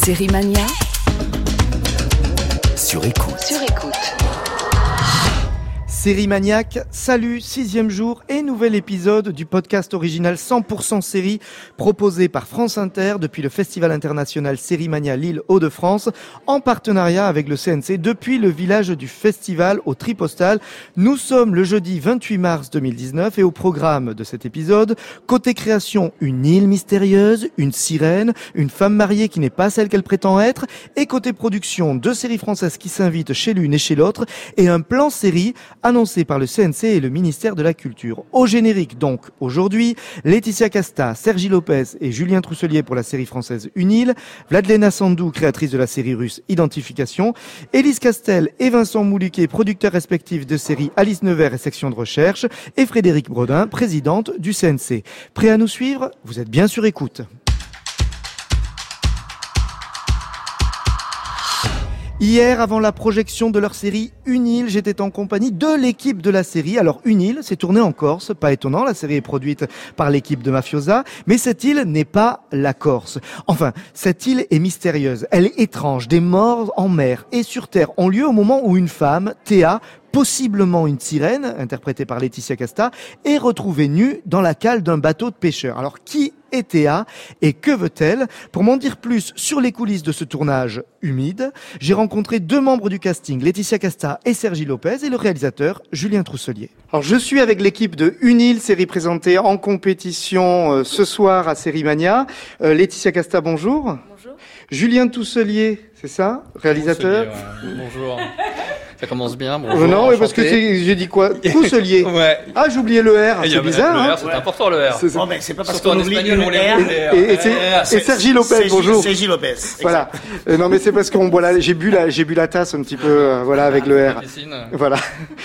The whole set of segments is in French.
Série Mania sur écoute. Série Maniaque, salut, 6e jour et nouvel épisode du podcast original 100% série proposé par France Inter depuis le Festival international Série Mania Lille Hauts-de-France en partenariat avec le CNC depuis le village du festival au Tripostal. Nous sommes le jeudi 28 mars 2019 et au programme de cet épisode, côté création, une île mystérieuse, une sirène, une femme mariée qui n'est pas celle qu'elle prétend être et côté production, 2 séries françaises qui s'invitent chez l'une et chez l'autre et un plan série annoncé par le CNC et le ministère de la Culture. Au générique donc, aujourd'hui, Laetitia Casta, Sergi Lopez et Julien Trousselier pour la série française Une île, Vladlena Sandou, créatrice de la série russe Identification, Élise Castel et Vincent Mouliquet, producteurs respectifs de séries Alice Nevers et Section de Recherche, et Frédéric Brodin, présidente du CNC. Prêt à nous suivre ? Vous êtes bien sur écoute. Hier, avant la projection de leur série Une île, j'étais en compagnie de l'équipe de la série. Alors, Une île, c'est tourné en Corse, pas étonnant, la série est produite par l'équipe de Mafiosa, mais cette île n'est pas la Corse. Enfin, cette île est mystérieuse, elle est étrange, des morts en mer et sur terre ont lieu au moment où une femme, Théa, possiblement une sirène, interprétée par Laetitia Casta, est retrouvée nue dans la cale d'un bateau de pêcheurs. Alors, qui est Théa et que veut-elle ? Pour m'en dire plus sur les coulisses de ce tournage humide, j'ai rencontré 2 membres du casting, Laetitia Casta et Sergi Lopez, et le réalisateur Julien Trousselier. Alors, je suis avec l'équipe de Une île, série présentée en compétition ce soir à Série Mania. Laetitia Casta, bonjour. Bonjour. Julien Trousselier, c'est ça ? Réalisateur. Bonjour. Ça commence bien. Bonjour, non, mais parce que enchanté. j'ai dit quoi ? Trousselier. Ouais. Ah, j'ai oublié le R. C'est bizarre. Le hein. R, c'est important le R. C'est- Bon, mais c'est pas parce Surtout qu'on en oublie espagnol, une on les R. oublie. Et Sergi Lopez, bonjour. Sergi Lopez. Voilà. Non, mais c'est parce qu'on boit j'ai bu la tasse un petit peu, voilà, avec le R. Piscine. Voilà.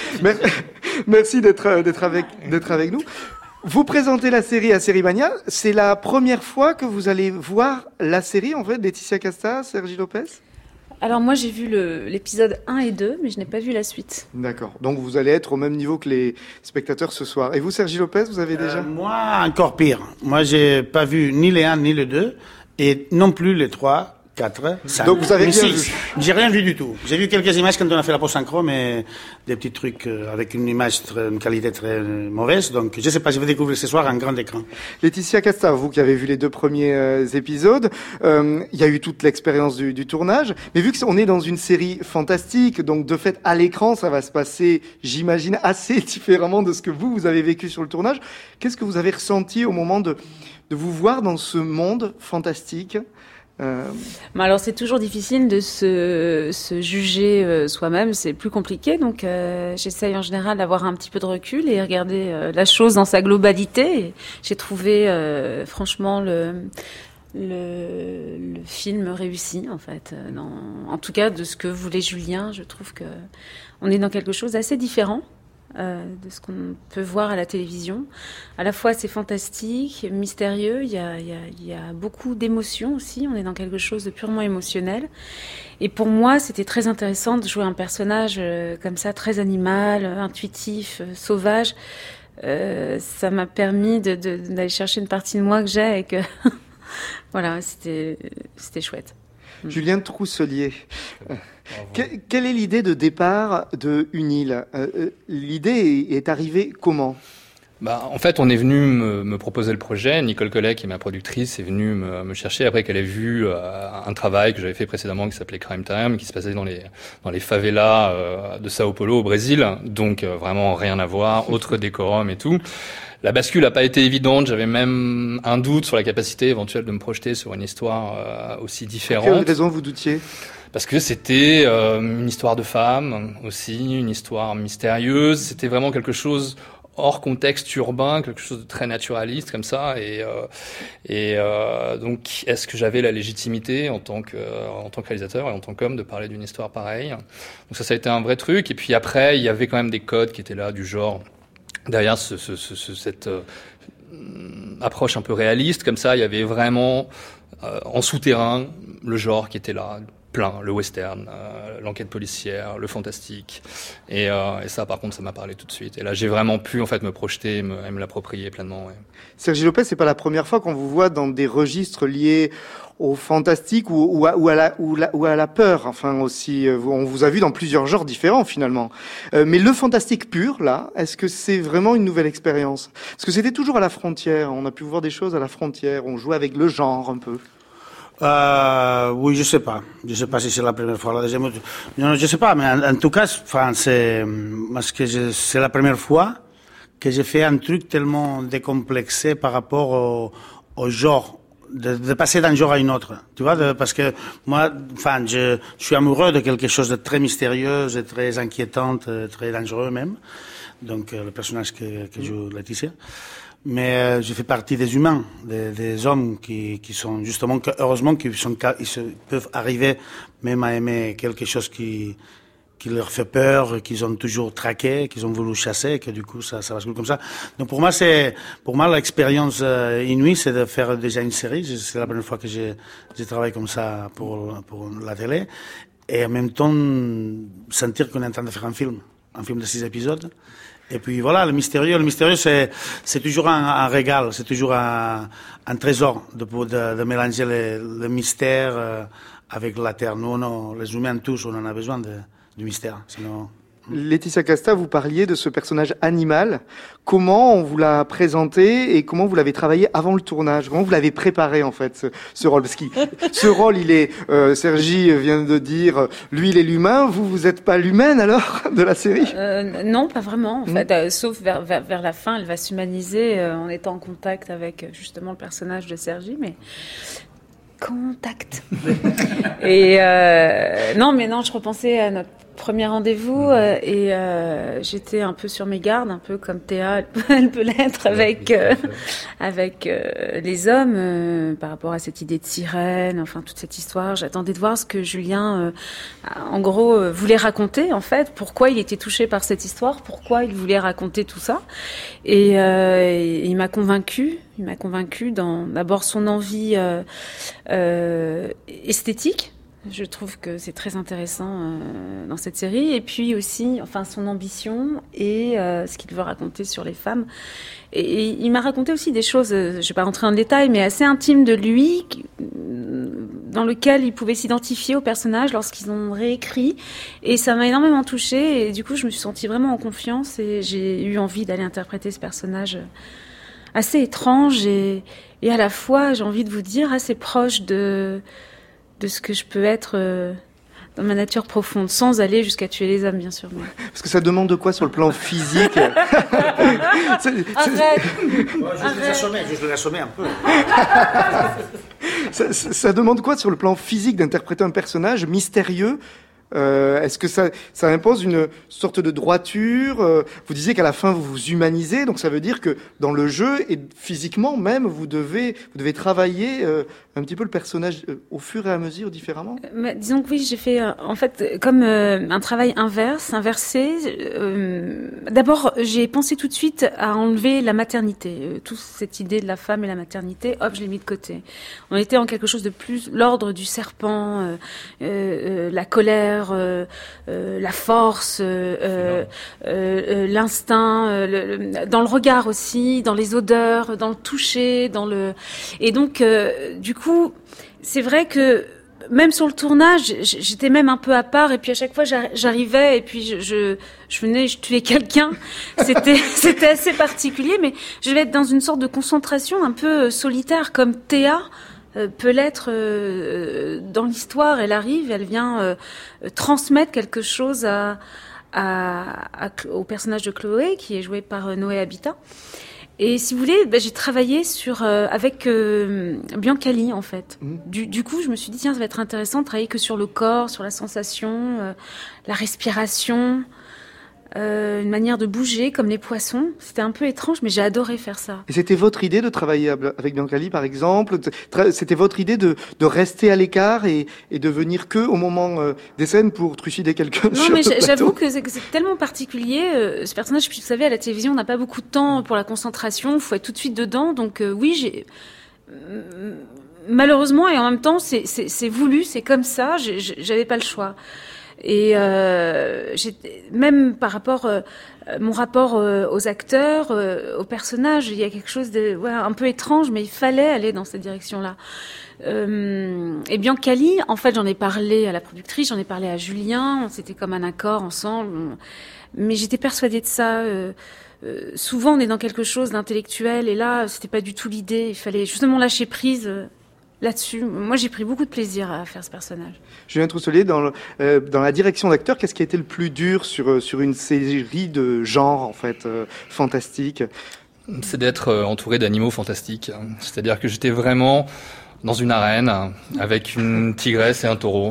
Merci d'être avec nous. Vous présentez la série à Série Mania. C'est la première fois que vous allez voir la série, en fait, Laetitia Casta, Sergi Lopez ? Alors moi j'ai vu l'épisode 1 et 2, mais je n'ai pas vu la suite. D'accord. Donc vous allez être au même niveau que les spectateurs ce soir. Et vous, Sergi Lopez, vous avez déjà Moi, encore pire. Moi, j'ai pas vu ni les 1 ni les 2, et non plus les 3, 4, 5. Donc vous avez ni rien 6. vu. J'ai rien vu du tout. J'ai vu quelques images quand on a fait la post-synchro, mais des petits trucs avec une qualité très mauvaise. Donc je sais pas, je vais découvrir ce soir un grand écran. Laetitia Casta, vous qui avez vu les 2 premiers épisodes, il y a eu toute l'expérience du tournage, mais vu qu'on est dans une série fantastique, donc de fait à l'écran ça va se passer, j'imagine, assez différemment de ce que vous avez vécu sur le tournage. Qu'est-ce que vous avez ressenti au moment de vous voir dans ce monde fantastique ? Mais alors c'est toujours difficile de se juger soi-même, c'est plus compliqué, donc j'essaye en général d'avoir un petit peu de recul et regarder la chose dans sa globalité. Et j'ai trouvé franchement le film réussi en fait. En tout cas de ce que voulait Julien, je trouve que on est dans quelque chose d'assez différent de ce qu'on peut voir à la télévision. À la fois c'est fantastique, mystérieux, il y a beaucoup d'émotions aussi, on est dans quelque chose de purement émotionnel. Et pour moi c'était très intéressant de jouer un personnage comme ça, très animal, intuitif, sauvage. Ça m'a permis d'aller chercher une partie de moi que j'ai et que voilà, c'était chouette. Julien Trousselier, quelle est l'idée de départ de Une île ? L'idée est arrivée comment ? En fait, on est venu me proposer le projet. Nicole Collet, qui est ma productrice, est venue me chercher après qu'elle ait vu un travail que j'avais fait précédemment qui s'appelait Crime Time, qui se passait dans les favelas de Sao Paulo au Brésil. Donc vraiment rien à voir, autre décorum et tout. La bascule n'a pas été évidente. J'avais même un doute sur la capacité éventuelle de me projeter sur une histoire aussi différente. Quelle raison vous doutiez ? Parce que c'était une histoire de femme aussi, une histoire mystérieuse. C'était vraiment quelque chose hors contexte urbain, quelque chose de très naturaliste comme ça. Et donc, est-ce que j'avais la légitimité en tant que réalisateur et en tant qu'homme de parler d'une histoire pareille ? Donc ça a été un vrai truc. Et puis après, il y avait quand même des codes qui étaient là, du genre derrière cette approche un peu réaliste. Comme ça, il y avait vraiment en souterrain le genre qui était là. plein, le western, l'enquête policière, le fantastique. Et ça, par contre, ça m'a parlé tout de suite. Et là, j'ai vraiment pu, en fait, me projeter et me l'approprier pleinement. Ouais. Sergi Lopez, c'est pas la première fois qu'on vous voit dans des registres liés au fantastique ou à la peur. Enfin, aussi, on vous a vu dans plusieurs genres différents, finalement. Mais le fantastique pur, là, est-ce que c'est vraiment une nouvelle expérience? Parce que c'était toujours à la frontière. On a pu voir des choses à la frontière. On jouait avec le genre, un peu. Oui, je sais pas. Je sais pas si c'est la première fois, la deuxième. Non, je sais pas, mais en tout cas, enfin, c'est la première fois que j'ai fait un truc tellement décomplexé par rapport au genre, de passer d'un genre à une autre. Tu vois, parce que moi, enfin, je suis amoureux de quelque chose de très mystérieux, de très inquiétant, très dangereux même. Donc, le personnage que joue Laetitia. Mais je fais partie des humains, des hommes qui sont justement, heureusement, ils peuvent arriver même à aimer quelque chose qui leur fait peur, qu'ils ont toujours traqué, qu'ils ont voulu chasser, que du coup ça bascule comme ça. Donc pour moi l'expérience inouïe, c'est de faire déjà une série. C'est la première fois que j'ai travaillé comme ça pour la télé, et en même temps sentir qu'on est en train de faire un film de 6 épisodes. Et puis voilà, le mystérieux, c'est toujours un régal, c'est toujours un trésor de mélanger le mystère avec la terre. Nous, les humains tous, on en a besoin du mystère. Sinon... Laetitia Casta, vous parliez de ce personnage animal. Comment on vous l'a présenté et comment vous l'avez travaillé avant le tournage? Comment vous l'avez préparé, en fait, ce rôle? Parce que ce rôle, il est, Sergi vient de dire, lui, il est l'humain. Vous êtes pas l'humaine, alors, de la série? Non, pas vraiment, en fait. Sauf vers la fin, elle va s'humaniser en étant en contact avec, justement, le personnage de Sergi, mais... Contact. Et non, je repensais à notre premier rendez-vous et j'étais un peu sur mes gardes, un peu comme Théa, elle peut l'être avec les hommes par rapport à cette idée de sirène, enfin toute cette histoire. J'attendais de voir ce que Julien, en gros, voulait raconter en fait, pourquoi il était touché par cette histoire, pourquoi il voulait raconter tout ça. Et il m'a convaincue. Il m'a convaincue dans d'abord son envie esthétique. Je trouve que c'est très intéressant dans cette série. Et puis aussi, enfin, son ambition et ce qu'il veut raconter sur les femmes. Et il m'a raconté aussi des choses, je ne vais pas rentrer en détail, mais assez intimes de lui, dans lequel il pouvait s'identifier aux personnages lorsqu'ils ont réécrit. Et ça m'a énormément touchée. Et du coup, je me suis sentie vraiment en confiance et j'ai eu envie d'aller interpréter ce personnage assez étrange et à la fois, j'ai envie de vous dire, assez proche de ce que je peux être dans ma nature profonde, sans aller jusqu'à tuer les hommes, bien sûr. Mais... Parce que ça demande de quoi sur le plan physique? Arrête. Je vais l'assommer un peu. Ça demande quoi sur le plan physique d'interpréter un personnage mystérieux? Est-ce que ça impose une sorte de droiture? Vous disiez qu'à la fin vous vous humanisez, donc ça veut dire que dans le jeu et physiquement même vous devez travailler un petit peu le personnage au fur et à mesure différemment. Disons que oui, j'ai fait en fait comme un travail inversé. D'abord, j'ai pensé tout de suite à enlever la maternité, toute cette idée de la femme et la maternité. Hop, je l'ai mis de côté. On était en quelque chose de plus l'ordre du serpent, la colère. La force, l'instinct, dans le regard aussi, dans les odeurs, dans le toucher, et donc du coup, c'est vrai que même sur le tournage, j'étais même un peu à part et puis à chaque fois j'arrivais et puis je venais, je tuais quelqu'un. C'était assez particulier, mais je vais être dans une sorte de concentration un peu solitaire comme Théa peut l'être dans l'histoire. Elle arrive, elle vient transmettre quelque chose au personnage de Chloé, qui est joué par Noé Habitat. Et si vous voulez, j'ai travaillé avec Biancali, en fait. Du coup, je me suis dit, tiens, ça va être intéressant de travailler que sur le corps, sur la sensation, la respiration, une manière de bouger comme les poissons. C'était un peu étrange, mais j'ai adoré faire ça. Et c'était votre idée de travailler avec Biancali, par exemple? C'était votre idée de rester à l'écart et de venir que au moment des scènes pour trucider quelqu'un? Non, mais j'avoue que c'est tellement particulier. Ce personnage, puis vous savez, à la télévision, on n'a pas beaucoup de temps pour la concentration. Il faut être tout de suite dedans. Donc oui, malheureusement, et en même temps, c'est voulu, c'est comme ça. J'avais pas le choix. Et même par rapport mon rapport aux acteurs, aux personnages, il y a quelque chose de un peu étrange, mais il fallait aller dans cette direction-là. Et Biancali, en fait, j'en ai parlé à la productrice, j'en ai parlé à Julien, c'était comme un accord ensemble, mais j'étais persuadée de ça. Souvent, on est dans quelque chose d'intellectuel, et là, c'était pas du tout l'idée. Il fallait justement lâcher prise. Là-dessus, moi j'ai pris beaucoup de plaisir à faire ce personnage. Julien Trousselier, dans la direction d'acteur, qu'est-ce qui a été le plus dur sur une série de genre en fait fantastique? C'est d'être entouré d'animaux fantastiques. C'est-à-dire que j'étais vraiment dans une arène avec une tigresse et un taureau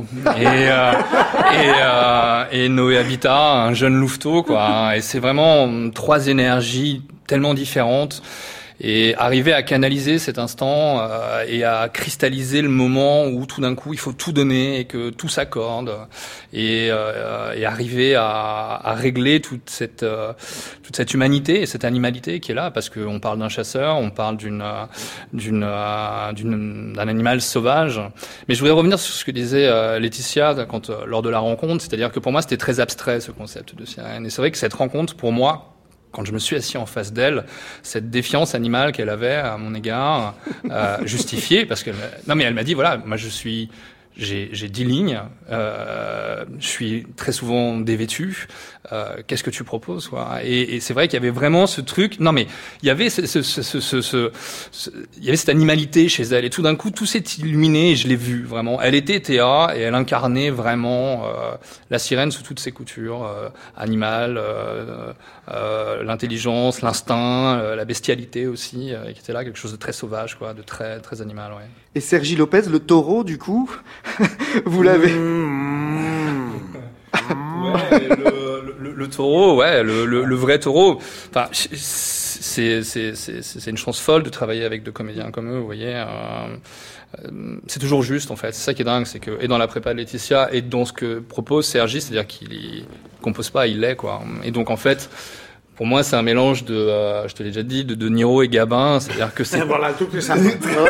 et Noé Habitat, un jeune louveteau quoi. Et c'est vraiment 3 énergies tellement différentes. Et arriver à canaliser cet instant et à cristalliser le moment où tout d'un coup il faut tout donner et que tout s'accorde et arriver à régler toute cette humanité et cette animalité qui est là, parce qu'on parle d'un chasseur, on parle d'un animal sauvage. Mais je voudrais revenir sur ce que disait Laetitia lors de la rencontre, c'est-à-dire que pour moi c'était très abstrait ce concept de sirène, et c'est vrai que cette rencontre pour moi, quand je me suis assis en face d'elle, cette défiance animale qu'elle avait à mon égard, justifiée, parce que elle m'a dit voilà, moi j'ai 10 lignes, je suis très souvent dévêtu, qu'est-ce que tu proposes quoi? Et c'est vrai qu'il y avait vraiment ce truc, il y avait il y avait cette animalité chez elle, et tout d'un coup tout s'est illuminé et je l'ai vu vraiment. Elle était Théa et elle incarnait vraiment la sirène sous toutes ses coutures, animale, l'intelligence, l'instinct, la bestialité aussi, qui était là, quelque chose de très sauvage quoi, de très très animal, ouais. Et Sergi Lopez, le taureau du coup, vous l'avez Ouais, le taureau, ouais, le vrai taureau. Enfin, c'est une chance folle de travailler avec 2 comédiens comme eux, vous voyez. C'est toujours juste, en fait. C'est ça qui est dingue, c'est que, et dans la prépa de Laetitia, et dans ce que propose Sergi, c'est-à-dire qu'il compose pas, il l'est, quoi. Et donc, en fait, pour moi, c'est un mélange de, je te l'ai déjà dit, de Niro et Gabin, c'est-à-dire que c'est... Voilà, un truc très simple.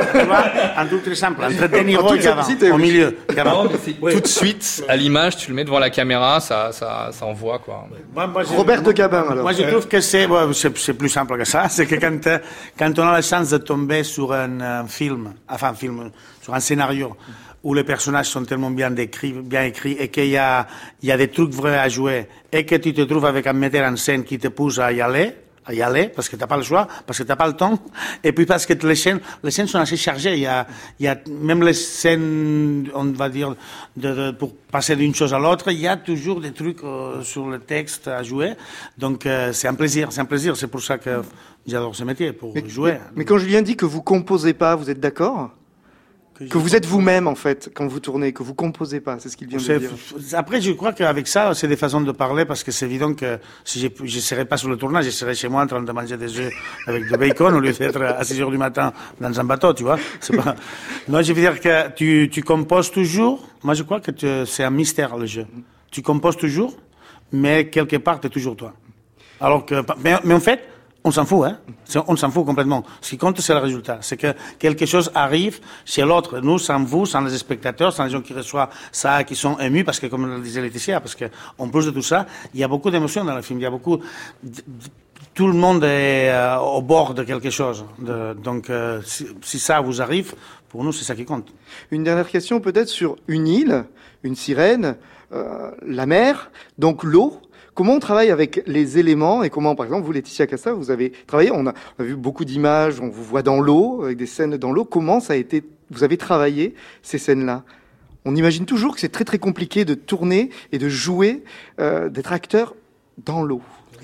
Un truc très simple, entre De Niro et Gabin, au milieu. Non, mais c'est tout de suite, à l'image, tu le mets devant la caméra, ça envoie, quoi. Robert de Gabin, alors. Moi, je trouve que c'est plus simple que ça. C'est que quand on a la chance de tomber sur un film, sur un scénario, où les personnages sont tellement bien écrits, et qu'il y a des trucs vrais à jouer, et que tu te trouves avec un metteur en scène qui te pousse à y aller, parce que t'as pas le choix, parce que t'as pas le temps, et puis parce que les scènes sont assez chargées. Il y a même les scènes, on va dire, pour passer d'une chose à l'autre, il y a toujours des trucs sur le texte à jouer. Donc c'est un plaisir. C'est pour ça que j'adore ce métier, pour jouer. Mais quand Julien dit que vous composez pas, vous êtes d'accord? Que vous êtes vous-même, en fait, quand vous tournez, que vous composez pas, c'est ce qu'il vient de dire. Après, je crois qu'avec ça, c'est des façons de parler, parce que c'est évident que si je serais pas sur le tournage, je serais chez moi en train de manger des œufs avec du bacon, au lieu d'être à 6 heures du matin dans un bateau, tu vois. Non, je veux dire que tu composes toujours. Moi, je crois que c'est un mystère, le jeu. Tu composes toujours, mais quelque part, t'es toujours toi. Alors que, mais en fait, on s'en fout, hein. On s'en fout complètement. Ce qui compte, c'est le résultat. C'est que quelque chose arrive chez l'autre. Nous, sans vous, sans les spectateurs, sans les gens qui reçoivent ça, qui sont émus, parce que, comme le disait Laetitia, parce que, en plus de tout ça, il y a beaucoup d'émotions dans le film. Il y a beaucoup, tout le monde est au bord de quelque chose. Donc, si ça vous arrive, pour nous, c'est ça qui compte. Une dernière question, peut-être, sur une île, une sirène, la mer, donc l'eau. Comment on travaille avec les éléments, et comment, par exemple, vous, Laetitia Casta, vous avez travaillé, on a vu beaucoup d'images, on vous voit dans l'eau, avec des scènes dans l'eau. Comment ça a été, vous avez travaillé ces scènes-là? On imagine toujours que c'est très très compliqué de tourner et de jouer, d'être acteur dans l'eau.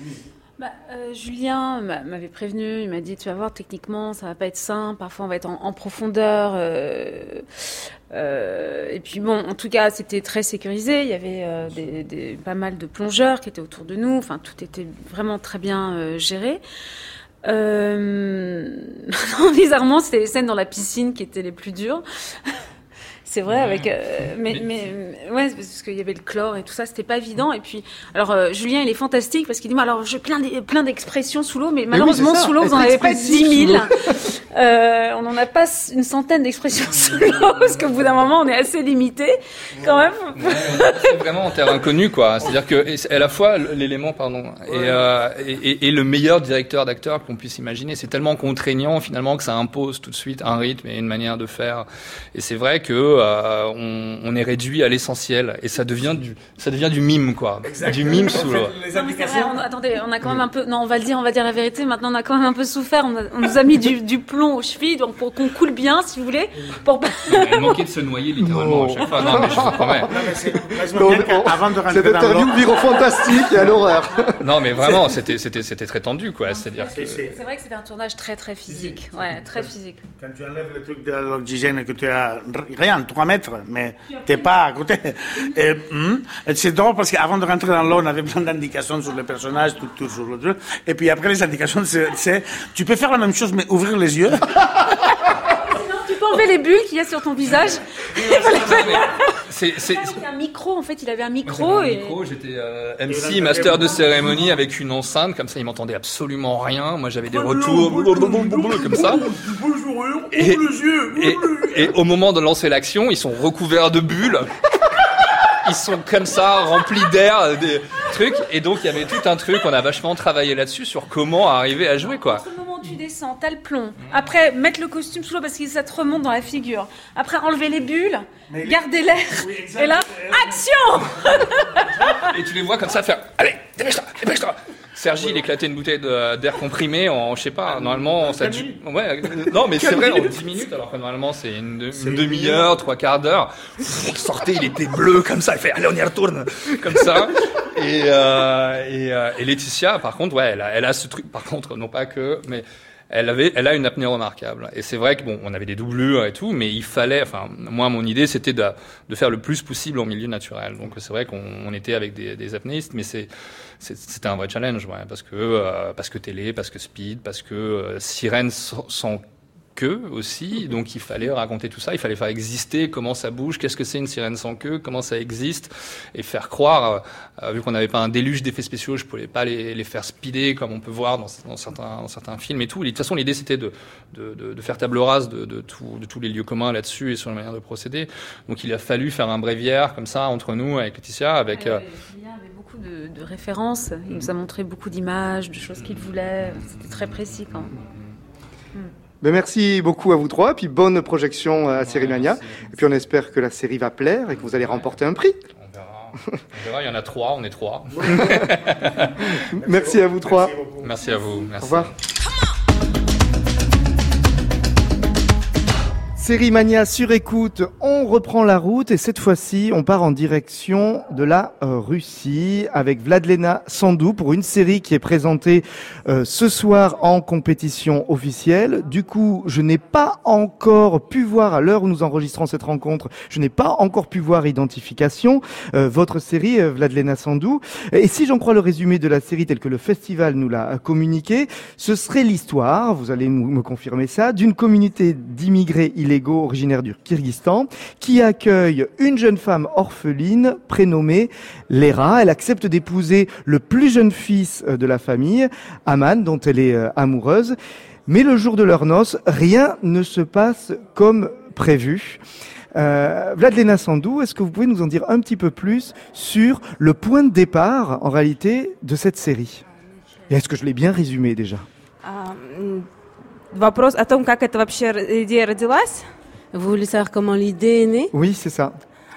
Julien m'avait prévenu, il m'a dit tu vas voir, techniquement ça va pas être simple, parfois on va être en profondeur, et puis bon, en tout cas c'était très sécurisé, il y avait pas mal de plongeurs qui étaient autour de nous, enfin tout était vraiment très bien géré. Bizarrement c'était les scènes dans la piscine qui étaient les plus dures. c'est vrai, avec mais ouais, parce qu'il y avait le chlore et tout ça, c'était pas évident. Et puis, alors Julien, il est fantastique parce qu'il dit, alors j'ai plein d'expressions sous l'eau, mais malheureusement oui, sous l'eau, vous en avez pas 10 000. On n'en a pas une centaine d'expressions sous l'eau parce qu'au bout d'un moment, on est assez limité quand même. C'est vraiment en terre inconnue, quoi. C'est-à-dire que à la fois l'élément, et le meilleur directeur d'acteur qu'on puisse imaginer, c'est tellement contraignant finalement que ça impose tout de suite un rythme et une manière de faire. Et c'est vrai que on est réduit à l'essentiel et ça devient du mime, quoi. Du mime sous l'eau. Attendez, on a quand même un peu, non, on va dire la vérité. Maintenant, on a quand même un peu souffert. On nous a mis du plomb aux chevilles, donc pour qu'on coule bien, si vous voulez. Il manquait de se noyer littéralement à chaque fois. Non, mais je vous promets. Avant de rentrer cette interview vire au fantastique et à l'horreur. Non, mais vraiment, c'était très tendu, quoi. C'est-à-dire que c'est vrai que c'était un tournage très très physique, ouais, très physique. Quand tu enlèves le truc de l'oxygène et que tu as rien, 3 mètres, mais t'es pas à côté. Et c'est drôle parce qu'avant de rentrer dans l'eau, on avait plein d'indications sur les personnages, tout sur le truc. Et puis après, les indications, c'est tu peux faire la même chose, mais ouvrir les yeux. Tu peux enlever les bulles qu'il y a sur ton visage. C'est un micro, en fait, il avait un micro. J'étais MC, master de cérémonie avec une enceinte, comme ça il m'entendait absolument rien. Moi j'avais des retours comme ça. Et au moment de lancer l'action, ils sont recouverts de bulles. Ils sont comme ça, remplis d'air, des trucs. Et donc il y avait tout un truc, on a vachement travaillé là-dessus sur comment arriver à jouer, quoi. Tu descends, t'as le plomb. Après, mettre le costume sous l'eau parce que ça te remonte dans la figure. Après, enlever les bulles, garder l'air. Et là, action. Et tu les vois comme ça faire. Allez, dépêche-toi. Sergi, il éclatait une bouteille d'air comprimé en, je sais pas, normalement, ça dure. Ouais, non, mais c'est vrai, en 10 minutes, alors que normalement, c'est une demi-heure, 3/4 d'heure. Il sortait, il était bleu, comme ça, il fait, allez, on y retourne, comme ça. Et Laetitia, par contre, ouais, elle a ce truc, par contre, non pas que, mais elle a une apnée remarquable. Et c'est vrai que bon, on avait des doublures et tout, mais il fallait, enfin, moi, mon idée, c'était de faire le plus possible en milieu naturel. Donc, c'est vrai qu'on était avec des apnéistes, mais c'était un vrai challenge, ouais, parce que télé, parce que speed, parce que sirène sans queue aussi, donc il fallait raconter tout ça, il fallait faire exister comment ça bouge, qu'est-ce que c'est une sirène sans queue, comment ça existe, et faire croire, vu qu'on n'avait pas un déluge d'effets spéciaux, je pouvais pas les faire speeder comme on peut voir dans certains films et tout. Et de toute façon, l'idée c'était de faire table rase de tous les lieux communs là-dessus et sur la manière de procéder. Donc il a fallu faire un bréviaire comme ça entre nous, avec Laetitia, avec... Julien avait beaucoup de références, il nous a montré beaucoup d'images, de choses qu'il voulait, c'était très précis quand même. Ben merci beaucoup à vous trois, puis bonne projection à Série Mania. Et puis on espère que la série va plaire et que vous allez remporter un prix. On verra, il y en a 3, on est 3. Merci à vous trois. Merci à vous. Merci. Au revoir. Série Mania sur écoute, on reprend la route et cette fois-ci, on part en direction de la Russie avec Vladlena Sandou pour une série qui est présentée ce soir en compétition officielle. Du coup, je n'ai pas encore pu voir, à l'heure où nous enregistrons cette rencontre, je n'ai pas encore pu voir Identification, votre série Vladlena Sandou. Et si j'en crois le résumé de la série tel que le festival nous l'a communiqué, ce serait l'histoire, vous allez me confirmer ça, d'une communauté d'immigrés illégaux originaires du Kyrgyzstan qui accueille une jeune femme orpheline prénommée Lera. Elle accepte d'épouser le plus jeune fils de la famille, Aman, dont elle est amoureuse. Mais le jour de leurs noces, rien ne se passe comme prévu. Vladlena Sandou, est-ce que vous pouvez nous en dire un petit peu plus sur le point de départ, en réalité, de cette série? Et est-ce que je l'ai bien résumé déjà? Вопрос о том, как это вообще идея родилась. Vous voulez savoir comment l'idée est née? Oui, c'est ça.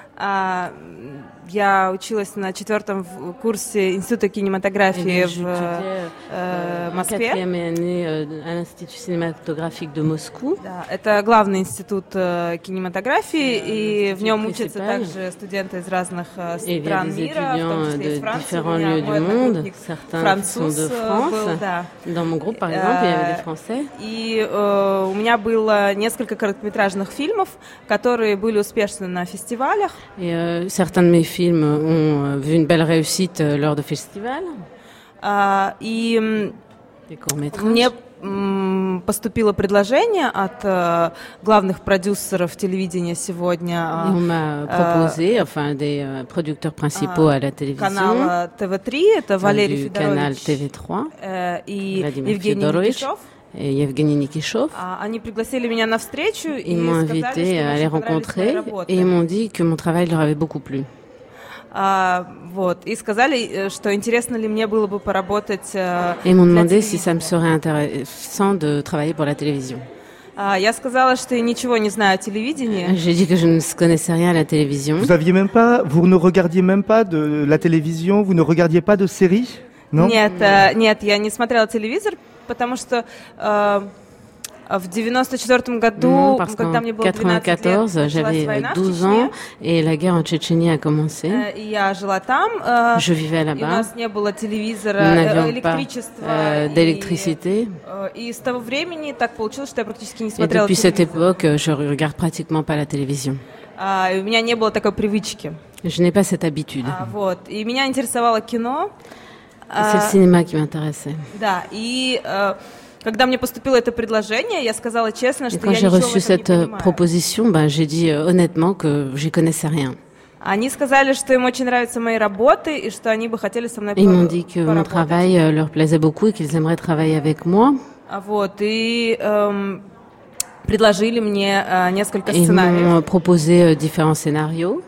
Я училась на 4-м курсе Института кинематографии в Москве. À l'Institut cinématographique de Moscou. Да, это главный институт кинематографии, и в нем учатся также студенты из разных стран мира, в том числе из Франции. У меня мой одногруппник француз был, да. Dans mon groupe, par exemple, il y avait des Français. И у меня было несколько короткометражных фильмов, которые были успешны на фестивалях. Et certains de mes films ont vu une belle réussite lors de festivals. И des courts-métrages. поступило предложение от главных продюсеров телевидения сегодня. On m'a proposé, des producteurs principaux à la télévision. Канала ТВ3, это Валерий Федорович и Евгений Никишов. Et Evgeny Nikishov. Они пригласили меня на встречу и m'ont invité à les rencontrer et ils m'ont dit que mon travail leur avait beaucoup plu. И сказали, что интересно ли мне было бы поработать. Et m'ont demandé si ça me serait intéressant de travailler pour la télévision. Я сказала, что я ничего не знаю о телевидении. J'ai dit que je ne connaissais rien à la télévision. Vous ne regardiez même pas de la télévision, vous ne regardiez pas de séries, non? Нет, я не смотрела телевизор, потому что в 94 году, когда мне было 12 лет, j'avais 12 ans et la guerre en Tchétchénie a commencé. Я жила там. Je vivais là-bas. У нас не было телевизора, электричества, d'électricité. И с того времени так получилось, что я практически не смотрела телевизор. Et depuis cette époque, je regarde pratiquement pas la télévision. У меня не было такой привычки. Je n'ai pas cette habitude. И меня интересовало кино. C'est le cinéma qui m'intéressait. Да, и когда мне поступило это предложение, я сказала честно, что я ничего в этом не понимаю. Quand j'ai reçu cette proposition, j'ai dit honnêtement que j'y connaissais rien. Они сказали, что им очень нравятся мои работы и что они бы хотели со мной поработать. Ils m'ont dit que mon travail leur plaisait beaucoup et qu'ils aimeraient travailler avec moi. И предложили мне несколько сценариев. Ils m'ont proposé différents scénarios.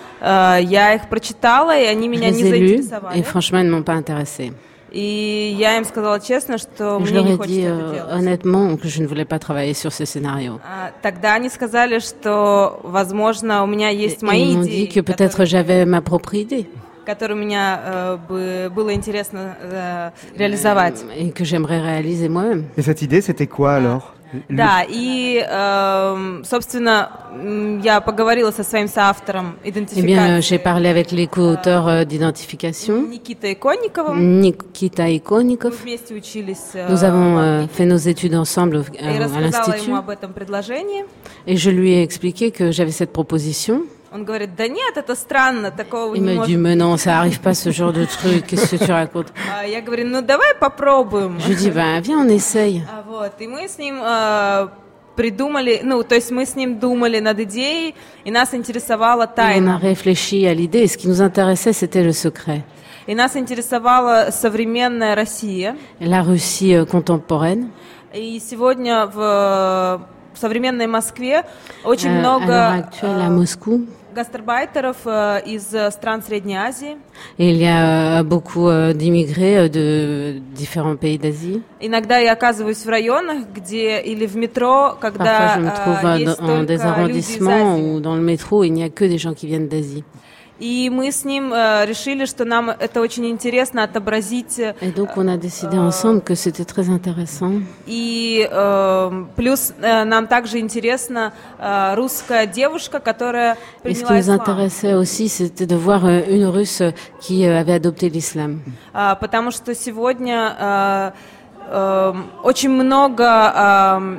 Я их прочитала, и они меня не заинтересовали. Et franchement, ils ne m'ont pas intéressée. И я им сказала честно, что мне не хочется это делать. Honnêtement que je ne voulais pas travailler sur ces scénarios. Тогда они сказали, что, возможно, у меня есть мои идеи. Ils m'ont dit que peut-être j'avais ma propre idée. Которые меня было интересно реализовать. Et que j'aimerais réaliser moi-même. Et cette idée, c'était quoi alors? Да, и, собственно, я поговорила со своим соавтором идентификации. Eh bien, j'ai parlé avec les co-auteurs d'identification. Никитой Иконниковым. Nikita Ikonikov. Мы вместе учились. Nous avons fait nos études ensemble à l'institut. И рассказала ему об этом предложении. Et je lui ai expliqué que j'avais cette proposition. Он говорит, да нет, это странно, такого не может быть. Il m'a dit, mais non, ça arrive pas ce genre de truc, qu'est-ce que tu racontes? Я говорю, ну давай попробуем. Je dis, viens, on essaye. И мы с ним придумали, то есть мы с ним думали над идеей, и нас интересовала тайна. On a réfléchi à l'idée, et ce qui nous intéressait, c'était le secret. И нас интересовала современная Россия. La Russie contemporaine. И сегодня в современной Москве очень много гастарбайтеров из стран Средней Азии. Il y a beaucoup d'immigrés de différents pays d'Asie. Иногда я оказываюсь в районах, где или в метро, когда есть только люди из Азии. Ou dans le métro, il n'y a que des gens qui viennent d'Asie. И мы с ним решили, что нам это очень интересно отобразить. Et donc on a décidé ensemble que c'était très intéressant. И плюс нам также интересна русская девушка, которая приняла ислам. Et ce qui nous intéressait aussi, c'était de voir une Russe qui avait adopté l'islam. Потому что сегодня очень много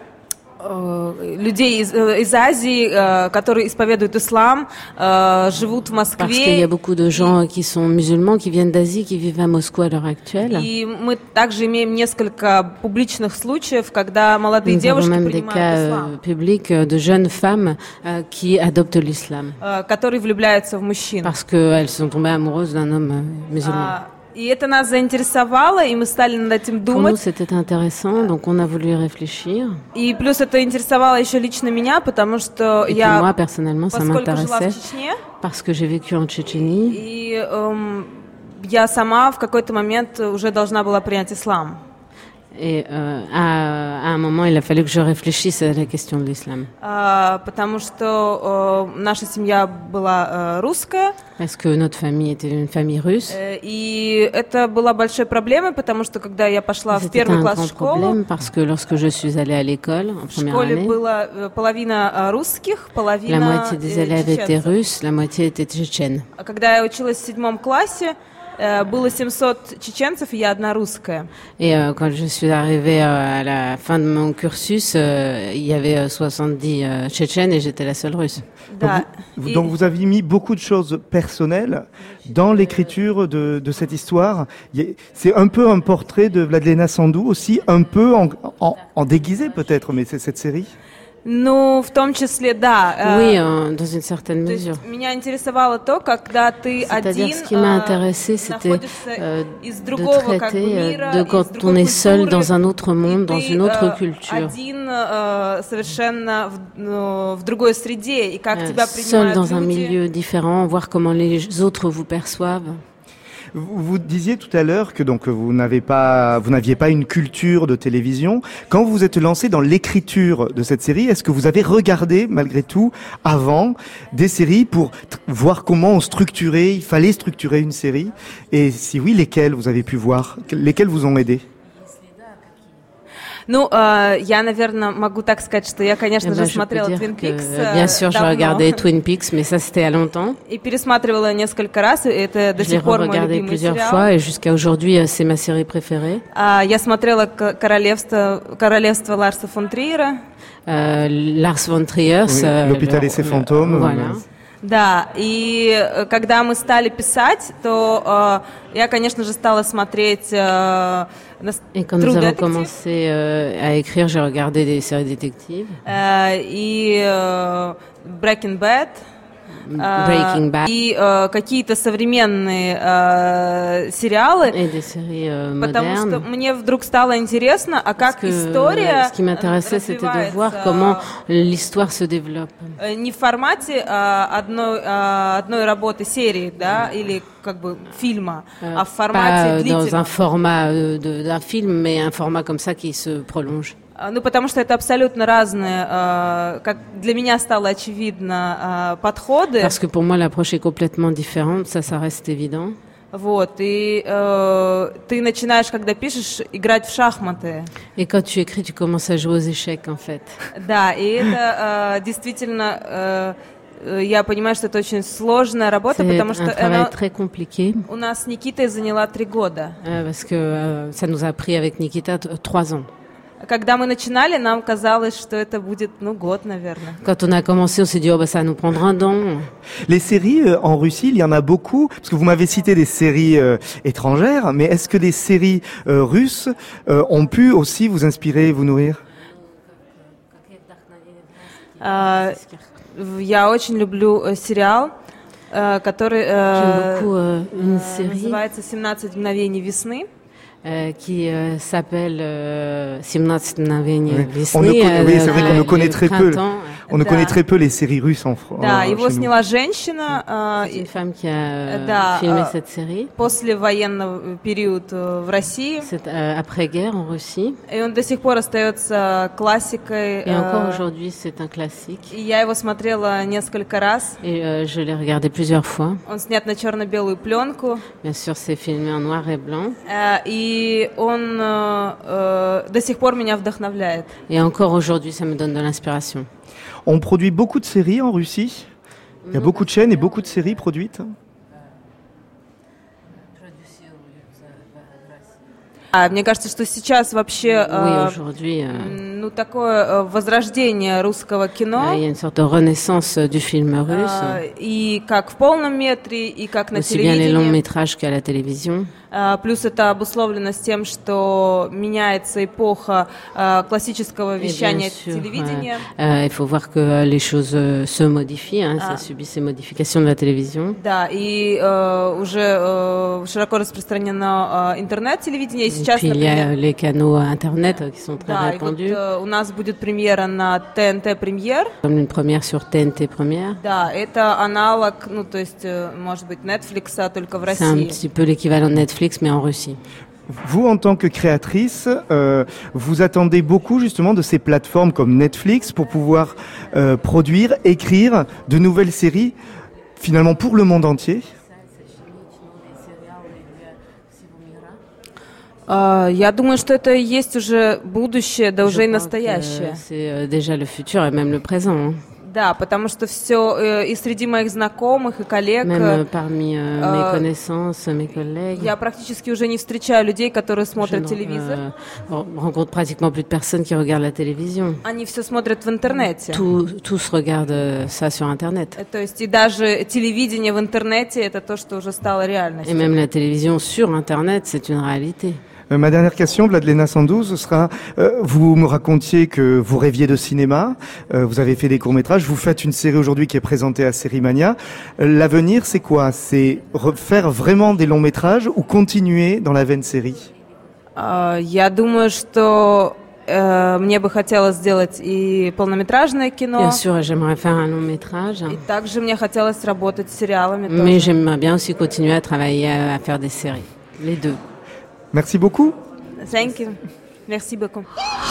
людей из Азии, которые исповедуют ислам, живут в Москве. Parce qu'il y a beaucoup de gens qui sont musulmans, qui viennent d'Asie, qui vivent à Moscou à l'heure actuelle. И мы также имеем несколько публичных случаев, когда молодые девушки принимают ислам. Nous avons même des cas publics de jeunes femmes qui adoptent l'islam. Которые влюбляются в мужчин. Parce qu'elles sont tombées amoureuses d'un homme musulman. И это нас заинтересовало, и мы стали над этим думать. Pour nous, c'était intéressant, donc on a voulu réfléchir. И плюс это интересовало еще лично меня, потому что я, moi, personnellement, ça m'intéressait, parce que j'ai vécu en Tchétchénie. И я сама в какой-то момент уже должна была принять ислам. Et à un moment, il a fallu que je réfléchisse à la question de l'islam. Потому что наша семья была русская. Parce que notre famille était une famille russe. И это была большой проблемой, потому что когда я пошла в первый класс в школу, parce que lorsque je suis allée à l'école en première année, в школе было половина русских, половина la moitié des élèves étaient russes, la moitié étaient tchétchènes. Когда я училась в 7 классе, было 700 чеченцев, и я одна русская. Et quand je suis arrivée à la fin de mon cursus, il y avait 70 Tchétchènes et j'étais la seule russe. Да. Donc vous avez mis beaucoup de choses personnelles dans l'écriture de cette histoire. C'est un peu un portrait de Vladlena Sandou aussi, un peu en déguisé peut-être, mais c'est cette série. Ну, в том числе, да. Oui, dans une certaine mesure. Меня интересовало то, когда ты один Ce qui m'a intéressé, c'était de traiter de quand on est seul dans un autre monde, dans une autre culture. Один совершенно в другой среде, и как тебя принимают seul dans un milieu différent, voir comment les autres vous perçoivent. Vous disiez tout à l'heure que donc vous n'aviez pas une culture de télévision. Quand vous vous êtes lancé dans l'écriture de cette série, est-ce que vous avez regardé malgré tout avant des séries pour voir comment il fallait structurer une série? Et si oui, lesquelles vous avez pu voir? Lesquelles vous ont aidé? Ну, я, наверное, могу так сказать, что я, конечно же, смотрела Twin Peaks. Bien sûr, je regardais Twin Peaks, mais ça, c'était il y a longtemps. И пересматривала несколько раз, и это до сих пор мой любимый plusieurs сериал. fois, et jusqu'à aujourd'hui, c'est ma série préférée. Я смотрела «Королевство Ларса фон Триера». Lars von Trier, «L'Hôpital et ses fantômes». Voilà. Да, и когда мы стали писать, то я, конечно же, стала смотреть Et quand nous avons commencé à écrire, j'ai regardé des séries détectives. И Breaking Bad. И какие-то современные сериалы, потому что мне вдруг стало интересно, а как история Ce qui m'intéressait, c'était de voir comment l'histoire se développe. Не в формате одной работы серии, да, или как бы фильма, а в формате длительного. Dans un format d'un film, mais un format comme ça qui se prolonge. Ну, потому что это абсолютно разные, как для меня стало очевидно, подходы. Parce que pour moi, l'approche est complètement différente, ça reste évident. Вот, и ты начинаешь, когда пишешь, играть в шахматы. Et quand tu écris, tu commences à jouer aux échecs, en fait. Да, и это действительно... Я понимаю, что это очень сложная работа, потому что она у нас с Никитой заняла 3 года. Parce que ça nous a pris avec Nikita 3 ans. Когда мы начинали, нам казалось, что это будет, год, наверное. Quand on a commencé, on s'est dit, ça va nous prendre un an. Les séries en Russie, il y en a beaucoup, parce que vous m'avez cité des séries étrangères, mais est-ce que des séries russes ont pu aussi vous inspirer, vous nourrir? Я очень люблю сериал, который называется «17 мгновений весны». Qui s'appelle 17 мгновений весны. Oui, c'est vrai qu'on ne connaît très peu. On ne connaît très peu les séries russes en France. Да, его сняла женщина. C'est une femme qui a filmé cette série. После военного период в России. C'est après-guerre en Russie. Et он до сих пор остается классикой. Et encore aujourd'hui, c'est un classique. И я его смотрела несколько раз. Et je l'ai regardé plusieurs fois. Он снят на черно-белую пленку. Bien sûr, c'est filmé en noir et blanc. И он до сих пор меня вдохновляет. Et encore aujourd'hui, ça me donne de l'inspiration. On produit beaucoup de séries en Russie. Il y a beaucoup de chaînes et beaucoup de séries produites. Мне кажется, что сейчас вообще такое возрождение русского кино. Il y a une sorte de renaissance du film russe. И как в полном метре, и как на телевидении. Aussi bien les longs métrages qu'à la télévision. Плюс это обусловлено с тем, что меняется эпоха классического вещания телевидения. Il faut voir que les choses se modifient, ça subit ces modifications de la télévision. Да, и уже широко распространено интернет-телевидение. Et puis il y a les canaux internet qui sont très répandus. Вот, у нас будет премьера на ТНТ Премьер. Comme une première sur TNT Première. Да, это аналог, то есть, может быть, Netflix, только в России. C'est un petit peu l'équivalent de Netflix, mais en Russie. Vous, en tant que créatrice, vous attendez beaucoup justement de ces plateformes comme Netflix pour pouvoir produire, écrire de nouvelles séries, finalement pour le monde entier. Я думаю, что это и есть уже будущее, да уже и настоящее. C'est déjà le futur et même le présent. Да, потому что все и среди моих знакомых и коллег. Même parmi mes connaissances, mes collègues. Я практически уже не встречаю людей, которые смотрят телевизор. Rencontre pratiquement plus de personnes qui regardent la télévision. Они все смотрят в интернете. Tous regardent ça sur Internet. То есть и даже телевидение в интернете это то, что уже стало реальностью. Et même la télévision sur Internet, c'est une réalité. Ma dernière question, Vladlena Sandou, ce sera, vous me racontiez que vous rêviez de cinéma, vous avez fait des courts-métrages, vous faites une série aujourd'hui qui est présentée à Sérimania. L'avenir, c'est quoi? C'est faire vraiment des longs-métrages ou continuer dans la veine série? Я думаю, что мне бы хотелось сделать и полнометражное кино. Bien sûr, j'aimerais faire un long métrage. И также мне хотелось работать с сериалами. Mais j'aimerais bien aussi continuer à travailler à faire des séries. Les deux. Merci beaucoup. Thank you. Merci beaucoup.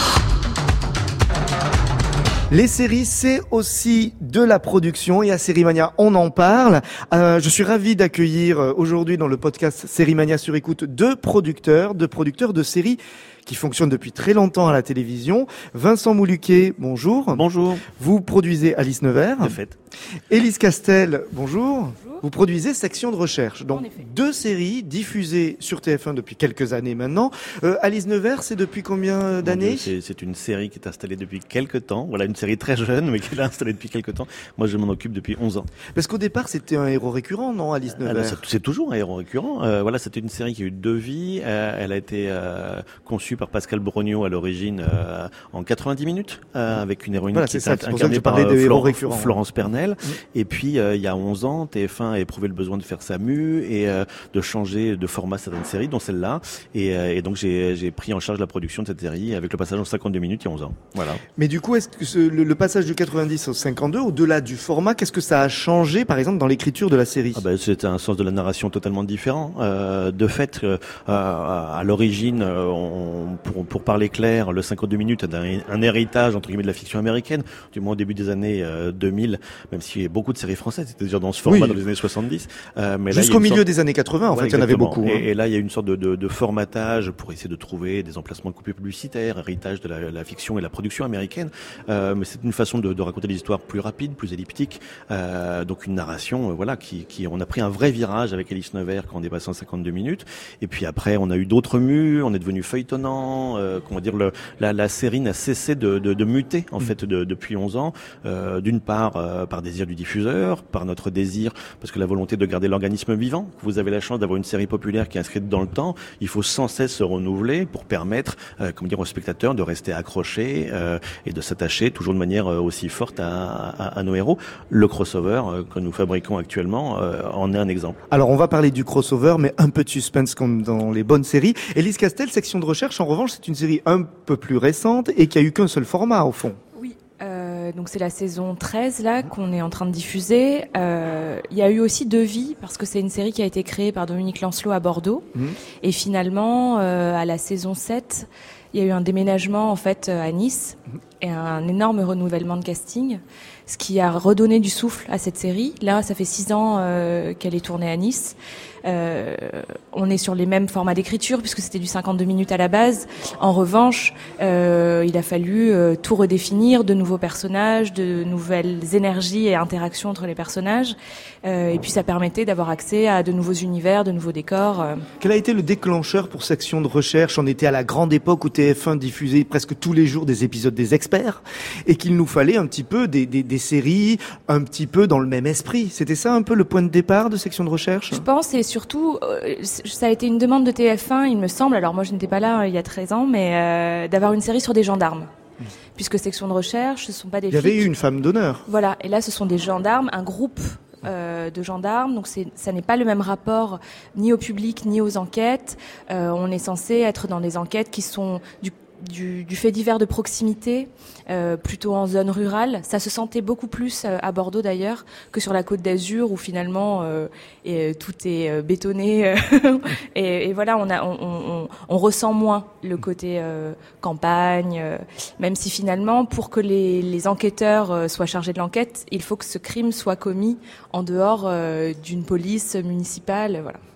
Les séries, c'est aussi de la production et à Sérimania, on en parle. Je suis ravi d'accueillir aujourd'hui dans le podcast Sérimania sur écoute deux producteurs de séries qui fonctionnent depuis très longtemps à la télévision. Vincent Moulouquet, bonjour. Bonjour. Vous produisez Alice Nevers. De fait. Élise Castel, bonjour. Vous produisez Section de recherche. Donc, deux séries diffusées sur TF1 depuis quelques années maintenant. Alice Nevers, c'est depuis combien d'années? C'est une série qui est installée depuis quelques temps. Voilà, une série très jeune, mais qui est installée depuis quelques temps. Moi, je m'en occupe depuis 11 ans. Parce qu'au départ, c'était un héros récurrent, non, Alice Nevers? C'est toujours un héros récurrent. Voilà, c'était une série qui a eu 2 vies. Elle a été conçue par Pascal Brognaud à l'origine en 90 minutes, avec une héroïne qui est incarnée par Florence Pernel. Et puis, il y a 11 ans, TF1 a éprouvé le besoin de faire sa mue et de changer de format certaines séries, dont celle-là. Et donc, j'ai pris en charge la production de cette série avec le passage en 52 minutes il y a 11 ans. Voilà. Mais du coup, est-ce que le passage du 90 au 52, au-delà du format, qu'est-ce que ça a changé, par exemple, dans l'écriture de la série? C'est un sens de la narration totalement différent. De fait, à l'origine, pour parler clair, le 52 minutes a un héritage, entre guillemets, de la fiction américaine, du moins au début des années 2000, même s'il y a beaucoup de séries françaises, c'était déjà dans ce format dans les années 70. Mais jusqu'au milieu des années 80, en fait, il y en avait beaucoup. Et là, il y a une sorte de formatage pour essayer de trouver des emplacements de coupures publicitaires, héritage de la fiction et la production américaine. Mais c'est une façon de raconter des histoires plus rapides, plus elliptiques. Donc une narration, voilà, on a pris un vrai virage avec Alice Nevers quand on dépasse 52 minutes. Et puis après, on a eu d'autres mues, on est devenu feuilletonnant. Comment dire, la série n'a cessé de muter, en fait, depuis 11 ans. D'une part, par désir du diffuseur, par notre désir, parce que la volonté de garder l'organisme vivant. Vous avez la chance d'avoir une série populaire qui est inscrite dans le temps. Il faut sans cesse se renouveler pour permettre, aux spectateurs de rester accrochés et de s'attacher toujours de manière aussi forte à nos héros. Le crossover que nous fabriquons actuellement en est un exemple. Alors on va parler du crossover, mais un peu de suspense comme dans les bonnes séries. Élise Castel, Section de recherche, en revanche, c'est une série un peu plus récente et qui a eu qu'un seul format au fond. Oui. Donc c'est la saison 13 là qu'on est en train de diffuser. Il y a eu aussi 2 vies parce que c'est une série qui a été créée par Dominique Lancelot à Bordeaux. Et finalement, à la saison 7, il y a eu un déménagement en fait à Nice et un énorme renouvellement de casting, ce qui a redonné du souffle à cette série. Là, ça fait 6 ans qu'elle est tournée à Nice. On est sur les mêmes formats d'écriture puisque c'était du 52 minutes à la base. En revanche, il a fallu tout redéfinir, de nouveaux personnages, de nouvelles énergies et interactions entre les personnages. Et puis ça permettait d'avoir accès à de nouveaux univers, de nouveaux décors. Quel a été le déclencheur pour Section de recherche? On était à la grande époque où TF1 diffusait presque tous les jours des épisodes des experts et qu'il nous fallait un petit peu des séries un petit peu dans le même esprit. C'était ça un peu le point de départ de Section de recherche? Je pense, et surtout, ça a été une demande de TF1, il me semble, alors moi je n'étais pas là il y a 13 ans, mais d'avoir une série sur des gendarmes. Puisque Section de recherche, ce ne sont pas des flics. Il y avait eu une femme d'honneur. Voilà, et là ce sont des gendarmes, un groupe de gendarmes, donc ça n'est pas le même rapport ni au public ni aux enquêtes. On est censé être dans des enquêtes qui sont du fait divers de proximité, plutôt en zone rurale. Ça se sentait beaucoup plus à Bordeaux d'ailleurs que sur la Côte d'Azur où finalement tout est bétonné et voilà, on ressent moins le côté campagne, même si finalement pour que les enquêteurs soient chargés de l'enquête, il faut que ce crime soit commis en dehors d'une police municipale, voilà.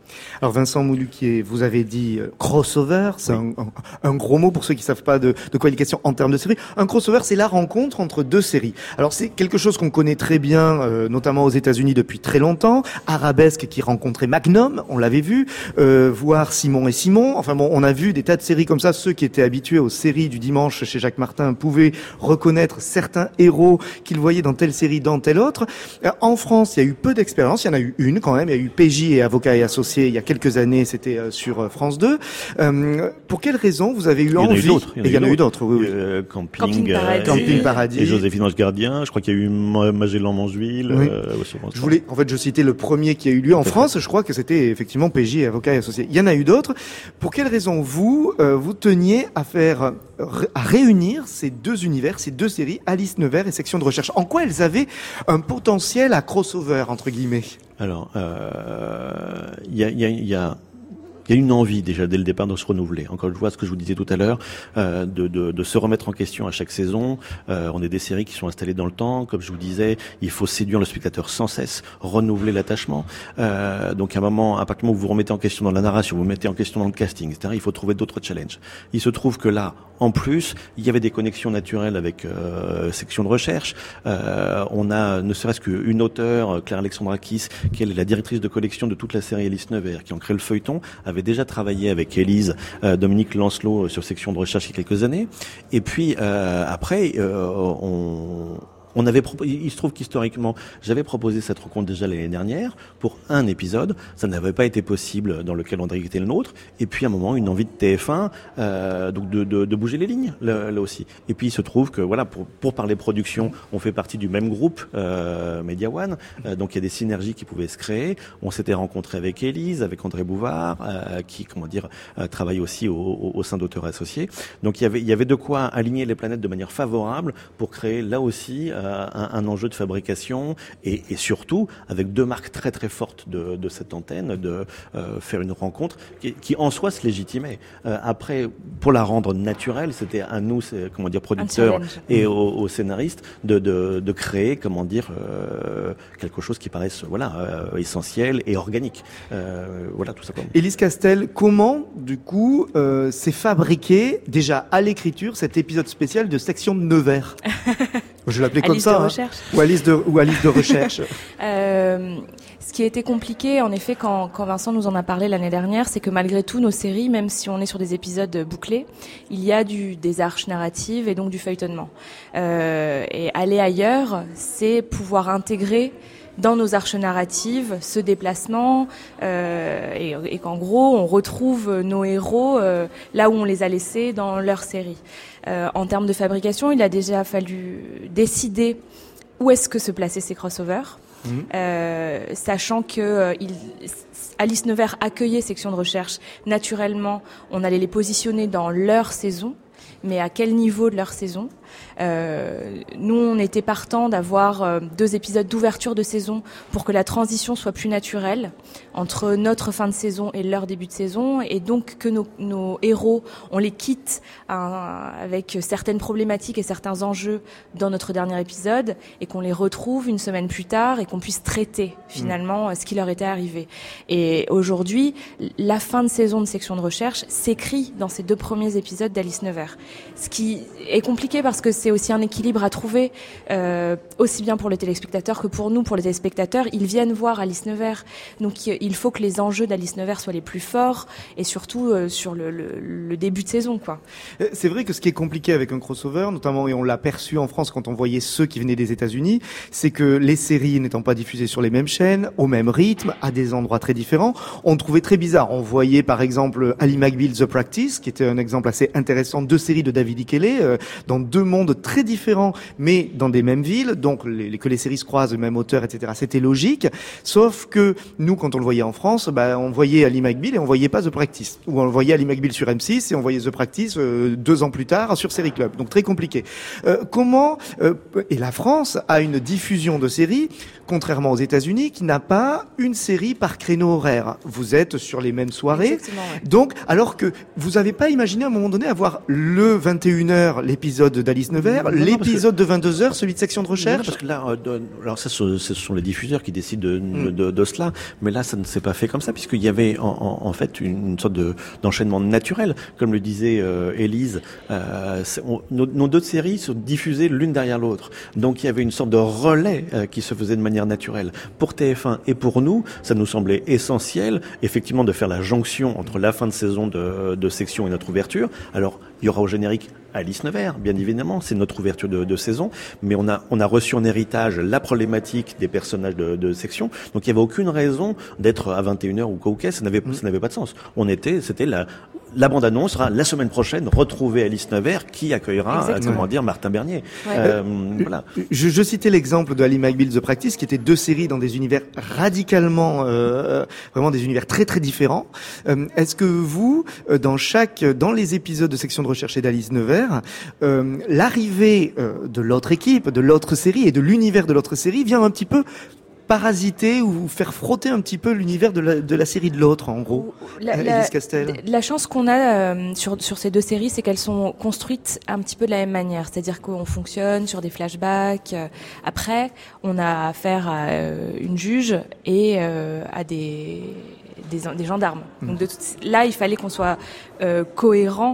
Alors Vincent Moulouquier, vous avez dit crossover, c'est un gros mot pour ceux qui savent pas de quoi il est question en termes de série. Un crossover, c'est la rencontre entre deux séries. Alors c'est quelque chose qu'on connaît très bien, notamment aux États-Unis depuis très longtemps. Arabesque qui rencontrait Magnum, on l'avait vu, voire Simon et Simon. Enfin bon, on a vu des tas de séries comme ça. Ceux qui étaient habitués aux séries du dimanche chez Jacques Martin pouvaient reconnaître certains héros qu'ils voyaient dans telle série, dans telle autre. En France, il y a eu peu d'expérience. Il y en a eu une quand même. Il y a eu PJ et Avocats et Associés il y a quelques années. C'était sur France 2. Pour quelles raisons vous avez eu envie? Il y en a eu d'autres. Oui. Camping Paradis. Et Joséphine Ange Gardien. Je crois qu'il y a eu Magellan Manzuil. Oui. Je citais le premier qui a eu lieu en France. Je crois que c'était effectivement PJ et Avocats et Associés. Il y en a eu d'autres. Pour quelles raisons vous teniez à réunir ces deux univers, ces deux séries, Alice Nevers et Section de Recherche? En quoi elles avaient un potentiel à crossover, entre guillemets? Alors, il y a une envie déjà dès le départ de se renouveler. Encore une fois, ce que je vous disais tout à l'heure, de se remettre en question à chaque saison. On est des séries qui sont installées dans le temps. Comme je vous disais, il faut séduire le spectateur sans cesse, renouveler l'attachement. Donc à un moment, à partir du moment où vous vous remettez en question dans la narration, vous mettez en question dans le casting, etc., il faut trouver d'autres challenges. Il se trouve que là, en plus, il y avait des connexions naturelles avec Section de Recherche. On a ne serait-ce qu'une auteure, Claire Alexandrakis, qui est la directrice de collection de toute la série Alice Nevers, qui en crée le feuilleton, avait déjà travaillé avec Élise, Dominique Lancelot sur Section de Recherche il y a quelques années. Et puis après, il se trouve qu'historiquement, j'avais proposé cette rencontre déjà l'année dernière pour un épisode. Ça n'avait pas été possible dans le calendrier qui était le nôtre. Et puis, à un moment, une envie de TF1, donc de bouger les lignes, là aussi. Et puis, il se trouve que, voilà, pour parler production, on fait partie du même groupe, Media One. Donc, il y a des synergies qui pouvaient se créer. On s'était rencontré avec Élise, avec André Bouvard, qui, travaille aussi au sein d'Auteurs Associés. Donc, il y avait de quoi aligner les planètes de manière favorable pour créer, là aussi, un enjeu de fabrication et surtout avec deux marques très très fortes de cette antenne, de faire une rencontre qui en soi se légitimait. Après, pour la rendre naturelle, c'était à nous, producteurs et aux scénaristes de créer, quelque chose qui paraisse essentiel et organique. Tout simplement. Élise Castel, comment du coup s'est fabriqué déjà à l'écriture cet épisode spécial de Section de Nevers? Je l'appelais comme ça, ou Alice de Recherche. Ce qui a été compliqué, en effet, quand Vincent nous en a parlé l'année dernière, c'est que malgré tout, nos séries, même si on est sur des épisodes bouclés, il y a des arches narratives et donc du feuilletonnement. Et aller ailleurs, c'est pouvoir intégrer dans nos arches narratives ce déplacement et qu'en gros on retrouve nos héros là où on les a laissés dans leur série. En termes de fabrication, il a déjà fallu décider où est-ce que se plaçaient ces crossovers, sachant que Alice Nevers accueillait Section de Recherche. Naturellement, on allait les positionner dans leur saison, mais à quel niveau de leur saison? Nous, on était partants d'avoir 2 épisodes d'ouverture de saison pour que la transition soit plus naturelle entre notre fin de saison et leur début de saison, et donc que nos héros, on les quitte avec certaines problématiques et certains enjeux dans notre dernier épisode, et qu'on les retrouve une semaine plus tard et qu'on puisse traiter finalement ce qui leur était arrivé. Et aujourd'hui, la fin de saison de Section de Recherche s'écrit dans ces 2 premiers épisodes d'Alice Nevers, ce qui est compliqué parce que c'est aussi un équilibre à trouver, aussi bien pour les téléspectateurs que pour nous, pour les téléspectateurs. Ils viennent voir Alice Nevers, donc il faut que les enjeux d'Alice Nevers soient les plus forts, et surtout sur le début de saison, quoi. C'est vrai que ce qui est compliqué avec un crossover, notamment, et on l'a perçu en France quand on voyait ceux qui venaient des États-Unis, c'est que les séries n'étant pas diffusées sur les mêmes chaînes, au même rythme, à des endroits très différents, on trouvait très bizarre. On voyait par exemple Ali McBeal The Practice, qui était un exemple assez intéressant, 2 séries de David Ikele, dans 2 mondes très différents, mais dans des mêmes villes, donc que les séries se croisent, le même auteur, etc. C'était logique, sauf que nous, quand on le voyait en France, on voyait Ali McBeal et on voyait pas The Practice, ou on voyait Ali McBeal sur M6 et on voyait The Practice 2 ans plus tard sur Série Club, donc très compliqué. Et la France a une diffusion de séries, contrairement aux États-Unis, qui n'a pas une série par créneau horaire. Vous êtes sur les mêmes soirées, donc alors que vous n'avez pas imaginé à un moment donné avoir le 21h, l'épisode d'Alice Nevers, l'épisode de 22h, celui de Section de Recherche. Parce que là, alors ça, ce sont les diffuseurs qui décident de cela, mais là, ça ne s'est pas fait comme ça, puisqu'il y avait en fait une sorte d'enchaînement naturel, comme le disait Élise. Nos deux séries sont diffusées l'une derrière l'autre, donc il y avait une sorte de relais qui se faisait de manière naturelle. Pour TF1 et pour nous, ça nous semblait essentiel, effectivement, de faire la jonction entre la fin de saison de Section et notre ouverture. Alors, il y aura au générique Alice Nevers, bien évidemment, c'est notre ouverture de saison, mais on a reçu en héritage la problématique des personnages de Section, donc il n'y avait aucune raison d'être à 21h ou quoi ou qu'est, ça n'avait pas de sens. C'était la bande-annonce sera la semaine prochaine, retrouver Alice Nevers qui accueillera, Martin Bernier. Ouais. Voilà. Je citais l'exemple de Ali McBeal The Practice, qui étaient deux séries dans des univers radicalement, vraiment des univers très très différents. Est-ce que vous, dans les épisodes de Section de Recherche et d'Alice Nevers, l'arrivée de l'autre équipe, de l'autre série et de l'univers de l'autre série vient un petit peu parasiter ou faire frotter un petit peu l'univers de la série de l'autre, en gros? Élise Castel. La chance qu'on a sur ces deux séries, c'est qu'elles sont construites un petit peu de la même manière. C'est-à-dire qu'on fonctionne sur des flashbacks. Après, on a affaire à une juge et à des gendarmes. Donc là, il fallait qu'on soit cohérent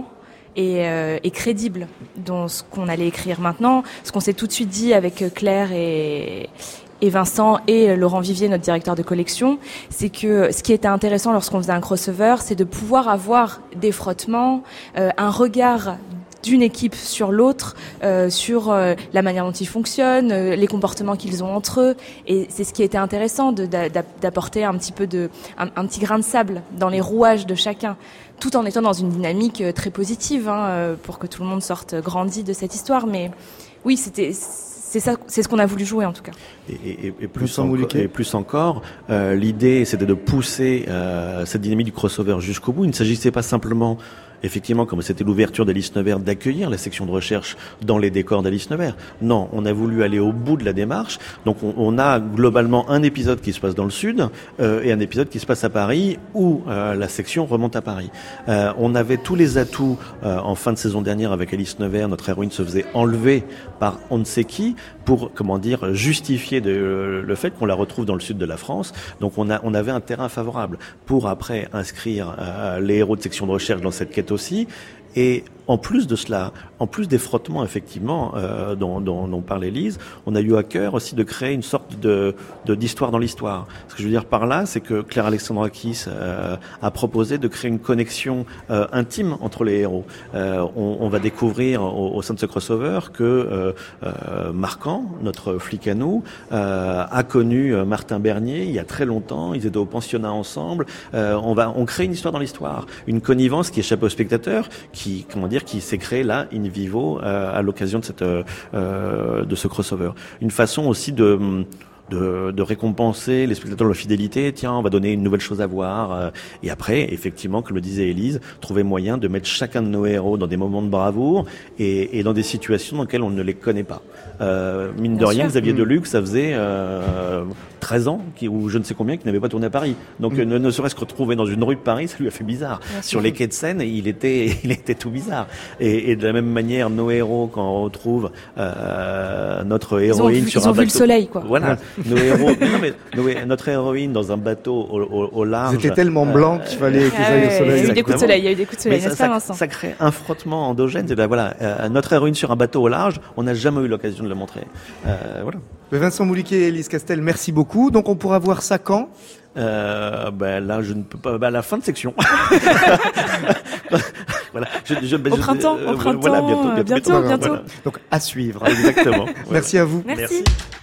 et crédible dans ce qu'on allait écrire. Maintenant, ce qu'on s'est tout de suite dit avec Claire et Vincent et Laurent Vivier, notre directeur de collection, c'est que ce qui était intéressant lorsqu'on faisait un crossover, c'est de pouvoir avoir des frottements, un regard d'une équipe sur l'autre, sur la manière dont ils fonctionnent, les comportements qu'ils ont entre eux, et c'est ce qui était intéressant d'apporter un petit peu un petit grain de sable dans les rouages de chacun, tout en étant dans une dynamique très positive, pour que tout le monde sorte grandi de cette histoire. Mais oui, c'est ça, c'est ce qu'on a voulu jouer en tout cas. Et plus encore, l'idée c'était de pousser cette dynamique du crossover jusqu'au bout. Il ne s'agissait pas simplement, effectivement, comme c'était l'ouverture d'Alice Nevers, d'accueillir la section de recherche dans les décors d'Alice Nevers. Non, on a voulu aller au bout de la démarche. Donc on a globalement un épisode qui se passe dans le sud et un épisode qui se passe à Paris où la section remonte à Paris. On avait tous les atouts en fin de saison dernière avec Alice Nevers. Notre héroïne se faisait enlever par on ne sait qui pour, justifier le fait qu'on la retrouve dans le sud de la France. Donc on avait un terrain favorable pour après inscrire les héros de section de recherche dans cette quête aussi. Et en plus de cela, en plus des frottements effectivement dont parlait Lise, on a eu à cœur aussi de créer une sorte d'histoire dans l'histoire. Ce que je veux dire par là, c'est que Claire Alexandrakis a proposé de créer une connexion intime entre les héros. On va découvrir au sein de ce crossover que Marquand, notre flic à nous, a connu Martin Bernier il y a très longtemps. Ils étaient au pensionnat ensemble. On crée une histoire dans l'histoire, une connivence qui échappe au spectateur, qui s'est créé là in vivo à l'occasion de ce crossover. Une façon aussi de récompenser les spectateurs de leur fidélité. Tiens, on va donner une nouvelle chose à voir. Et après, effectivement, comme le disait Élise, trouver moyen de mettre chacun de nos héros dans des moments de bravoure et dans des situations dans lesquelles on ne les connaît pas. Mine de rien, Xavier Deluc, ça faisait 13 ans ou je ne sais combien qu'il n'avait pas tourné à Paris. Donc ne serait-ce que retrouver dans une rue de Paris, ça lui a fait bizarre. Sur les quais de Seine, il était tout bizarre. Et de la même manière, nos héros, quand on retrouve notre héroïne sur un bateau, ils ont vu le soleil, quoi. Voilà. Nos héros, notre héroïne dans un bateau au large. C'était tellement blanc qu'il fallait qu'ils aillent au soleil. Il y a eu des coups de soleil, n'est-ce pas, Vincent? Ça crée un frottement endogène. Notre héroïne sur un bateau au large, on n'a jamais eu l'occasion de le montrer. Voilà. Vincent Mouliquet et Élise Castel, merci beaucoup. Donc on pourra voir ça quand? Là, je ne peux pas. À la fin de section. Voilà. Au printemps. Voilà, bientôt. Voilà. Donc à suivre. Exactement. Merci à vous. Merci.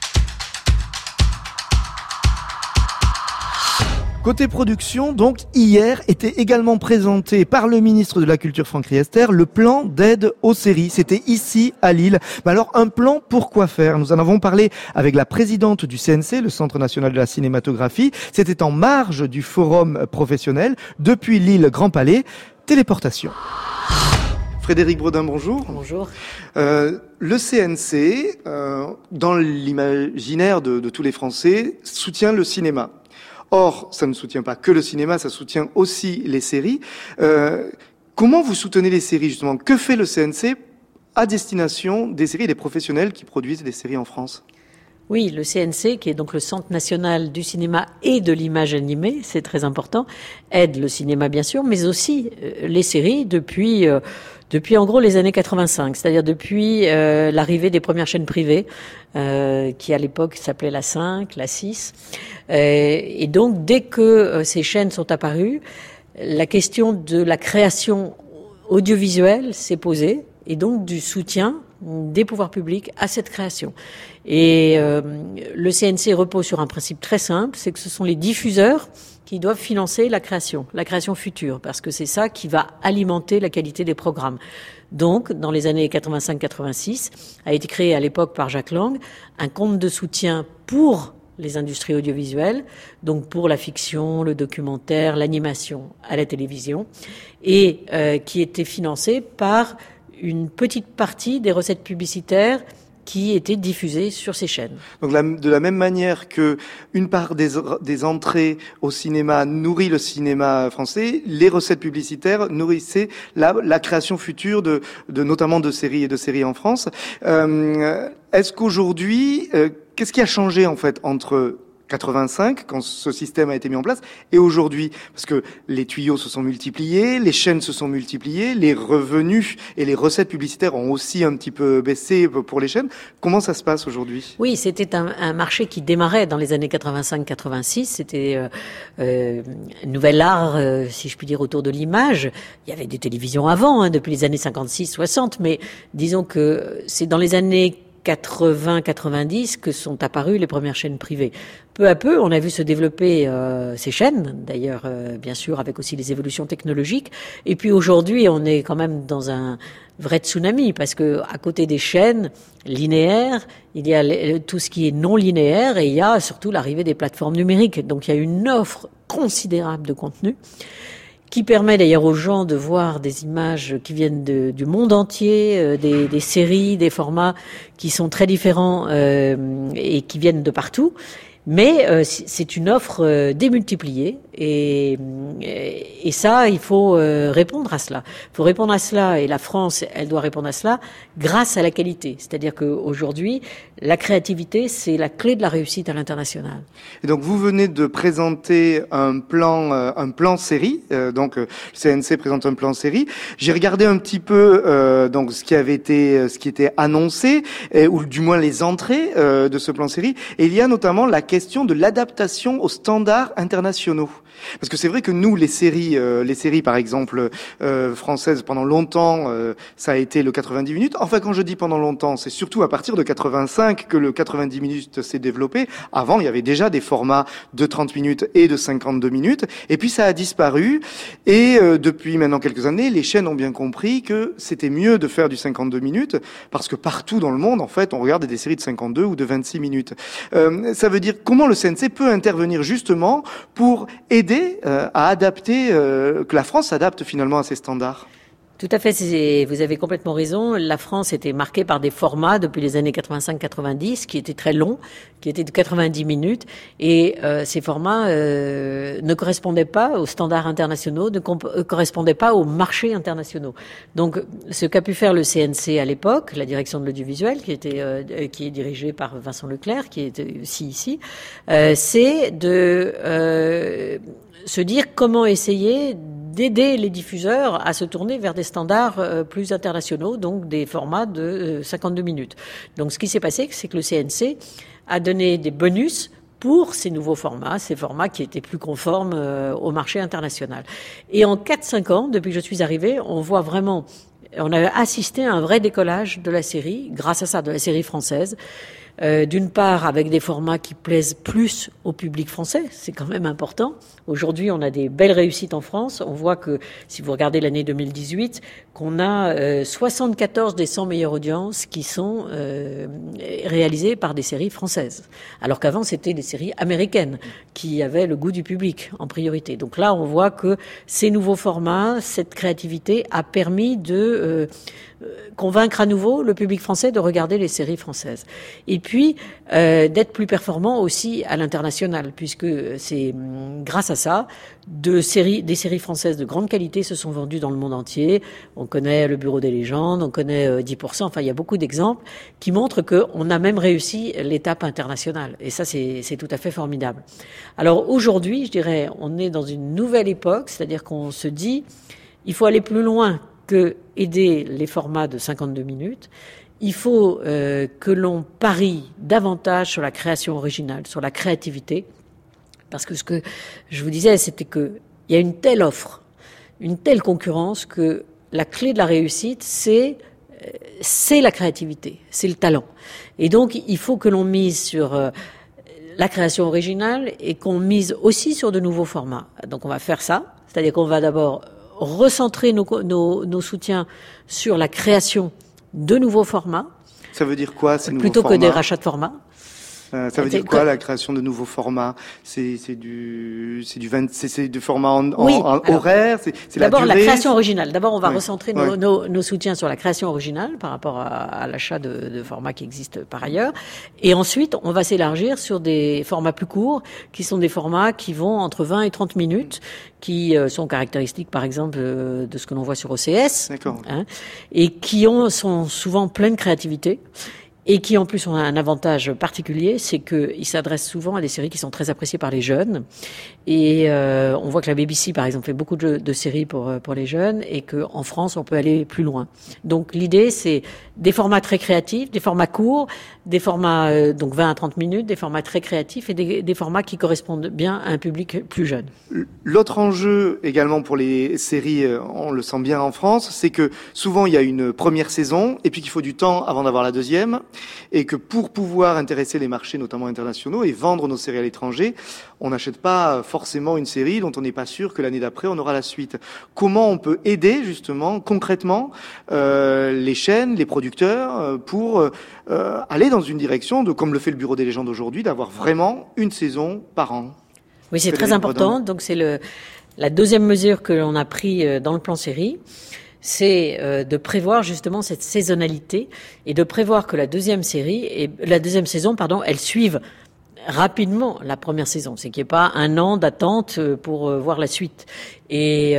Côté production, donc, hier était également présenté par le ministre de la Culture Franck Riester le plan d'aide aux séries. C'était ici, à Lille. Alors, un plan pour quoi faire? Nous en avons parlé avec la présidente du CNC, le Centre National de la Cinématographie. C'était en marge du forum professionnel, depuis Lille Grand Palais. Téléportation. Frédéric Brodin, bonjour. Bonjour. Le CNC, dans l'imaginaire de tous les Français, soutient le cinéma. Or, ça ne soutient pas que le cinéma, ça soutient aussi les séries. Comment vous soutenez les séries, justement? Que fait le CNC à destination des séries et des professionnels qui produisent des séries en France? Oui, le CNC, qui est donc le Centre national du cinéma et de l'image animée, c'est très important, aide le cinéma bien sûr, mais aussi les séries depuis en gros les années 85, c'est-à-dire depuis l'arrivée des premières chaînes privées, qui à l'époque s'appelaient la 5, la 6. Et donc dès que ces chaînes sont apparues, la question de la création audiovisuelle s'est posée, et donc du soutien des pouvoirs publics à cette création. Et le CNC repose sur un principe très simple, c'est que ce sont les diffuseurs qui doivent financer la création future, parce que c'est ça qui va alimenter la qualité des programmes. Donc, dans les années 85-86, a été créé à l'époque par Jacques Lang un compte de soutien pour les industries audiovisuelles, donc pour la fiction, le documentaire, l'animation à la télévision, et qui était financé par une petite partie des recettes publicitaires qui étaient diffusées sur ces chaînes. Donc de la même manière que une part des entrées au cinéma nourrit le cinéma français, les recettes publicitaires nourrissaient la création future de notamment de séries en France. Est-ce qu'aujourd'hui, qu'est-ce qui a changé en fait entre 85, quand ce système a été mis en place, et aujourd'hui, parce que les tuyaux se sont multipliés, les chaînes se sont multipliées, les revenus et les recettes publicitaires ont aussi un petit peu baissé pour les chaînes. Comment ça se passe aujourd'hui? Oui, c'était un marché qui démarrait dans les années 85-86. C'était un nouvel art, si je puis dire, autour de l'image. Il y avait des télévisions avant, depuis les années 56-60, mais disons que c'est dans les années 80-90 que sont apparues les premières chaînes privées. Peu à peu, on a vu se développer ces chaînes, d'ailleurs, bien sûr, avec aussi les évolutions technologiques. Et puis aujourd'hui, on est quand même dans un vrai tsunami, parce que à côté des chaînes linéaires, il y a tout ce qui est non linéaire, et il y a surtout l'arrivée des plateformes numériques. Donc il y a une offre considérable de contenu, qui permet d'ailleurs aux gens de voir des images qui viennent du monde entier, des séries, des formats qui sont très différents et qui viennent de partout. Mais c'est une offre démultipliée, et ça, il faut répondre à cela. Il faut répondre à cela, et la France, elle doit répondre à cela grâce à la qualité. C'est-à-dire qu'aujourd'hui, la créativité, c'est la clé de la réussite à l'international. Et donc, vous venez de présenter un plan série. Donc, le CNC présente un plan série. J'ai regardé un petit peu donc ce qui était annoncé, ou du moins les entrées de ce plan série. Et il y a notamment la question de l'adaptation aux standards internationaux. Parce que c'est vrai que nous, les séries par exemple françaises, pendant longtemps, ça a été le 90 minutes. Enfin, quand je dis pendant longtemps, c'est surtout à partir de 85 que le 90 minutes s'est développé. Avant, il y avait déjà des formats de 30 minutes et de 52 minutes. Et puis ça a disparu. Et depuis maintenant quelques années, les chaînes ont bien compris que c'était mieux de faire du 52 minutes, parce que partout dans le monde, en fait, on regarde des séries de 52 ou de 26 minutes. Ça veut dire comment le CNC peut intervenir justement pour aider à adapter, que la France s'adapte finalement à ces standards. Tout à fait, vous avez complètement raison. La France était marquée par des formats depuis les années 85-90 qui étaient très longs, qui étaient de 90 minutes, et ces formats ne correspondaient pas aux standards internationaux, ne correspondaient pas aux marchés internationaux. Donc, ce qu'a pu faire le CNC à l'époque, la direction de l'audiovisuel, qui est dirigée par Vincent Leclerc, qui est aussi ici, c'est de se dire comment essayer d'aider les diffuseurs à se tourner vers des standards plus internationaux, donc des formats de 52 minutes. Donc ce qui s'est passé, c'est que le CNC a donné des bonus pour ces nouveaux formats, ces formats qui étaient plus conformes au marché international. Et en 4-5 ans, depuis que je suis arrivée, on a assisté à un vrai décollage de la série, grâce à ça, de la série française. D'une part avec des formats qui plaisent plus au public français, c'est quand même important. Aujourd'hui, on a des belles réussites en France. On voit que, si vous regardez l'année 2018, qu'on a 74 des 100 meilleures audiences qui sont réalisées par des séries françaises. Alors qu'avant, c'était des séries américaines qui avaient le goût du public en priorité. Donc là, on voit que ces nouveaux formats, cette créativité a permis de convaincre à nouveau le public français de regarder les séries françaises. Et puis, d'être plus performant aussi à l'international, puisque c'est grâce à ça, des séries françaises de grande qualité se sont vendues dans le monde entier. On connaît Le Bureau des légendes, on connaît 10%, enfin il y a beaucoup d'exemples qui montrent qu'on a même réussi l'étape internationale. Et ça, c'est tout à fait formidable. Alors aujourd'hui, je dirais, on est dans une nouvelle époque, c'est-à-dire qu'on se dit, il faut aller plus loin que aider les formats de 52 minutes. Il faut que l'on parie davantage sur la création originale, sur la créativité. Parce que ce que je vous disais, c'était qu'il y a une telle offre, une telle concurrence que la clé de la réussite, c'est la créativité, c'est le talent. Et donc, il faut que l'on mise sur la création originale et qu'on mise aussi sur de nouveaux formats. Donc, on va faire ça, c'est-à-dire qu'on va d'abord recentrer nos soutiens sur la création de nouveaux formats. Ça veut dire quoi, ces nouveaux plutôt formats ? Que des rachats de formats. Ça veut dire quoi, la création de nouveaux formats ? C'est du format en horaire, c'est la durée. D'abord, la création originale. D'abord, on va recentrer nos soutiens sur la création originale par rapport à l'achat de formats qui existent par ailleurs. Et ensuite, on va s'élargir sur des formats plus courts, qui sont des formats qui vont entre 20 et 30 minutes, qui sont caractéristiques, par exemple, de ce que l'on voit sur OCS. D'accord. Et qui sont souvent pleins de créativité. Et qui en plus ont un avantage particulier, c'est qu'ils s'adressent souvent à des séries qui sont très appréciées par les jeunes. Et on voit que la BBC, par exemple, fait beaucoup de séries pour les jeunes, et qu'en France, on peut aller plus loin. Donc l'idée, c'est des formats très créatifs, des formats courts, des formats donc 20 à 30 minutes, des formats très créatifs et des formats qui correspondent bien à un public plus jeune. L'autre enjeu également pour les séries, on le sent bien en France, c'est que souvent il y a une première saison et puis qu'il faut du temps avant d'avoir la deuxième, et que pour pouvoir intéresser les marchés notamment internationaux et vendre nos séries à l'étranger, on n'achète pas forcément une série dont on n'est pas sûr que l'année d'après on aura la suite. Comment on peut aider justement concrètement les chaînes, les producteurs pour aller dans une direction de, comme le fait le Bureau des légendes aujourd'hui, d'avoir vraiment une saison par an? Oui, c'est très important. Donc c'est la deuxième mesure que l'on a pris dans le plan série. C'est de prévoir justement cette saisonnalité et de prévoir que la deuxième saison, elle suive rapidement la première saison. C'est qu'il n'y ait pas un an d'attente pour voir la suite. Et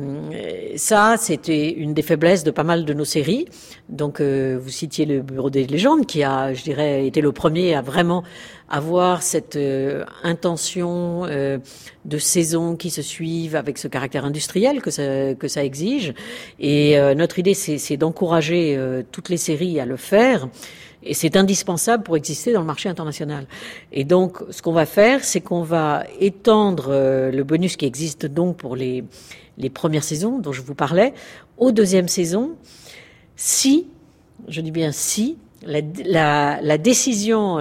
ça, c'était une des faiblesses de pas mal de nos séries. Donc, vous citiez le Bureau des légendes, qui a, je dirais, été le premier à vraiment avoir cette intention de saison qui se suivent avec ce caractère industriel que ça exige. Et notre idée, c'est d'encourager toutes les séries à le faire. Et c'est indispensable pour exister dans le marché international. Et donc, ce qu'on va faire, c'est qu'on va étendre le bonus qui existe donc pour les premières saisons dont je vous parlais aux deuxièmes saisons, si, je dis bien si, la décision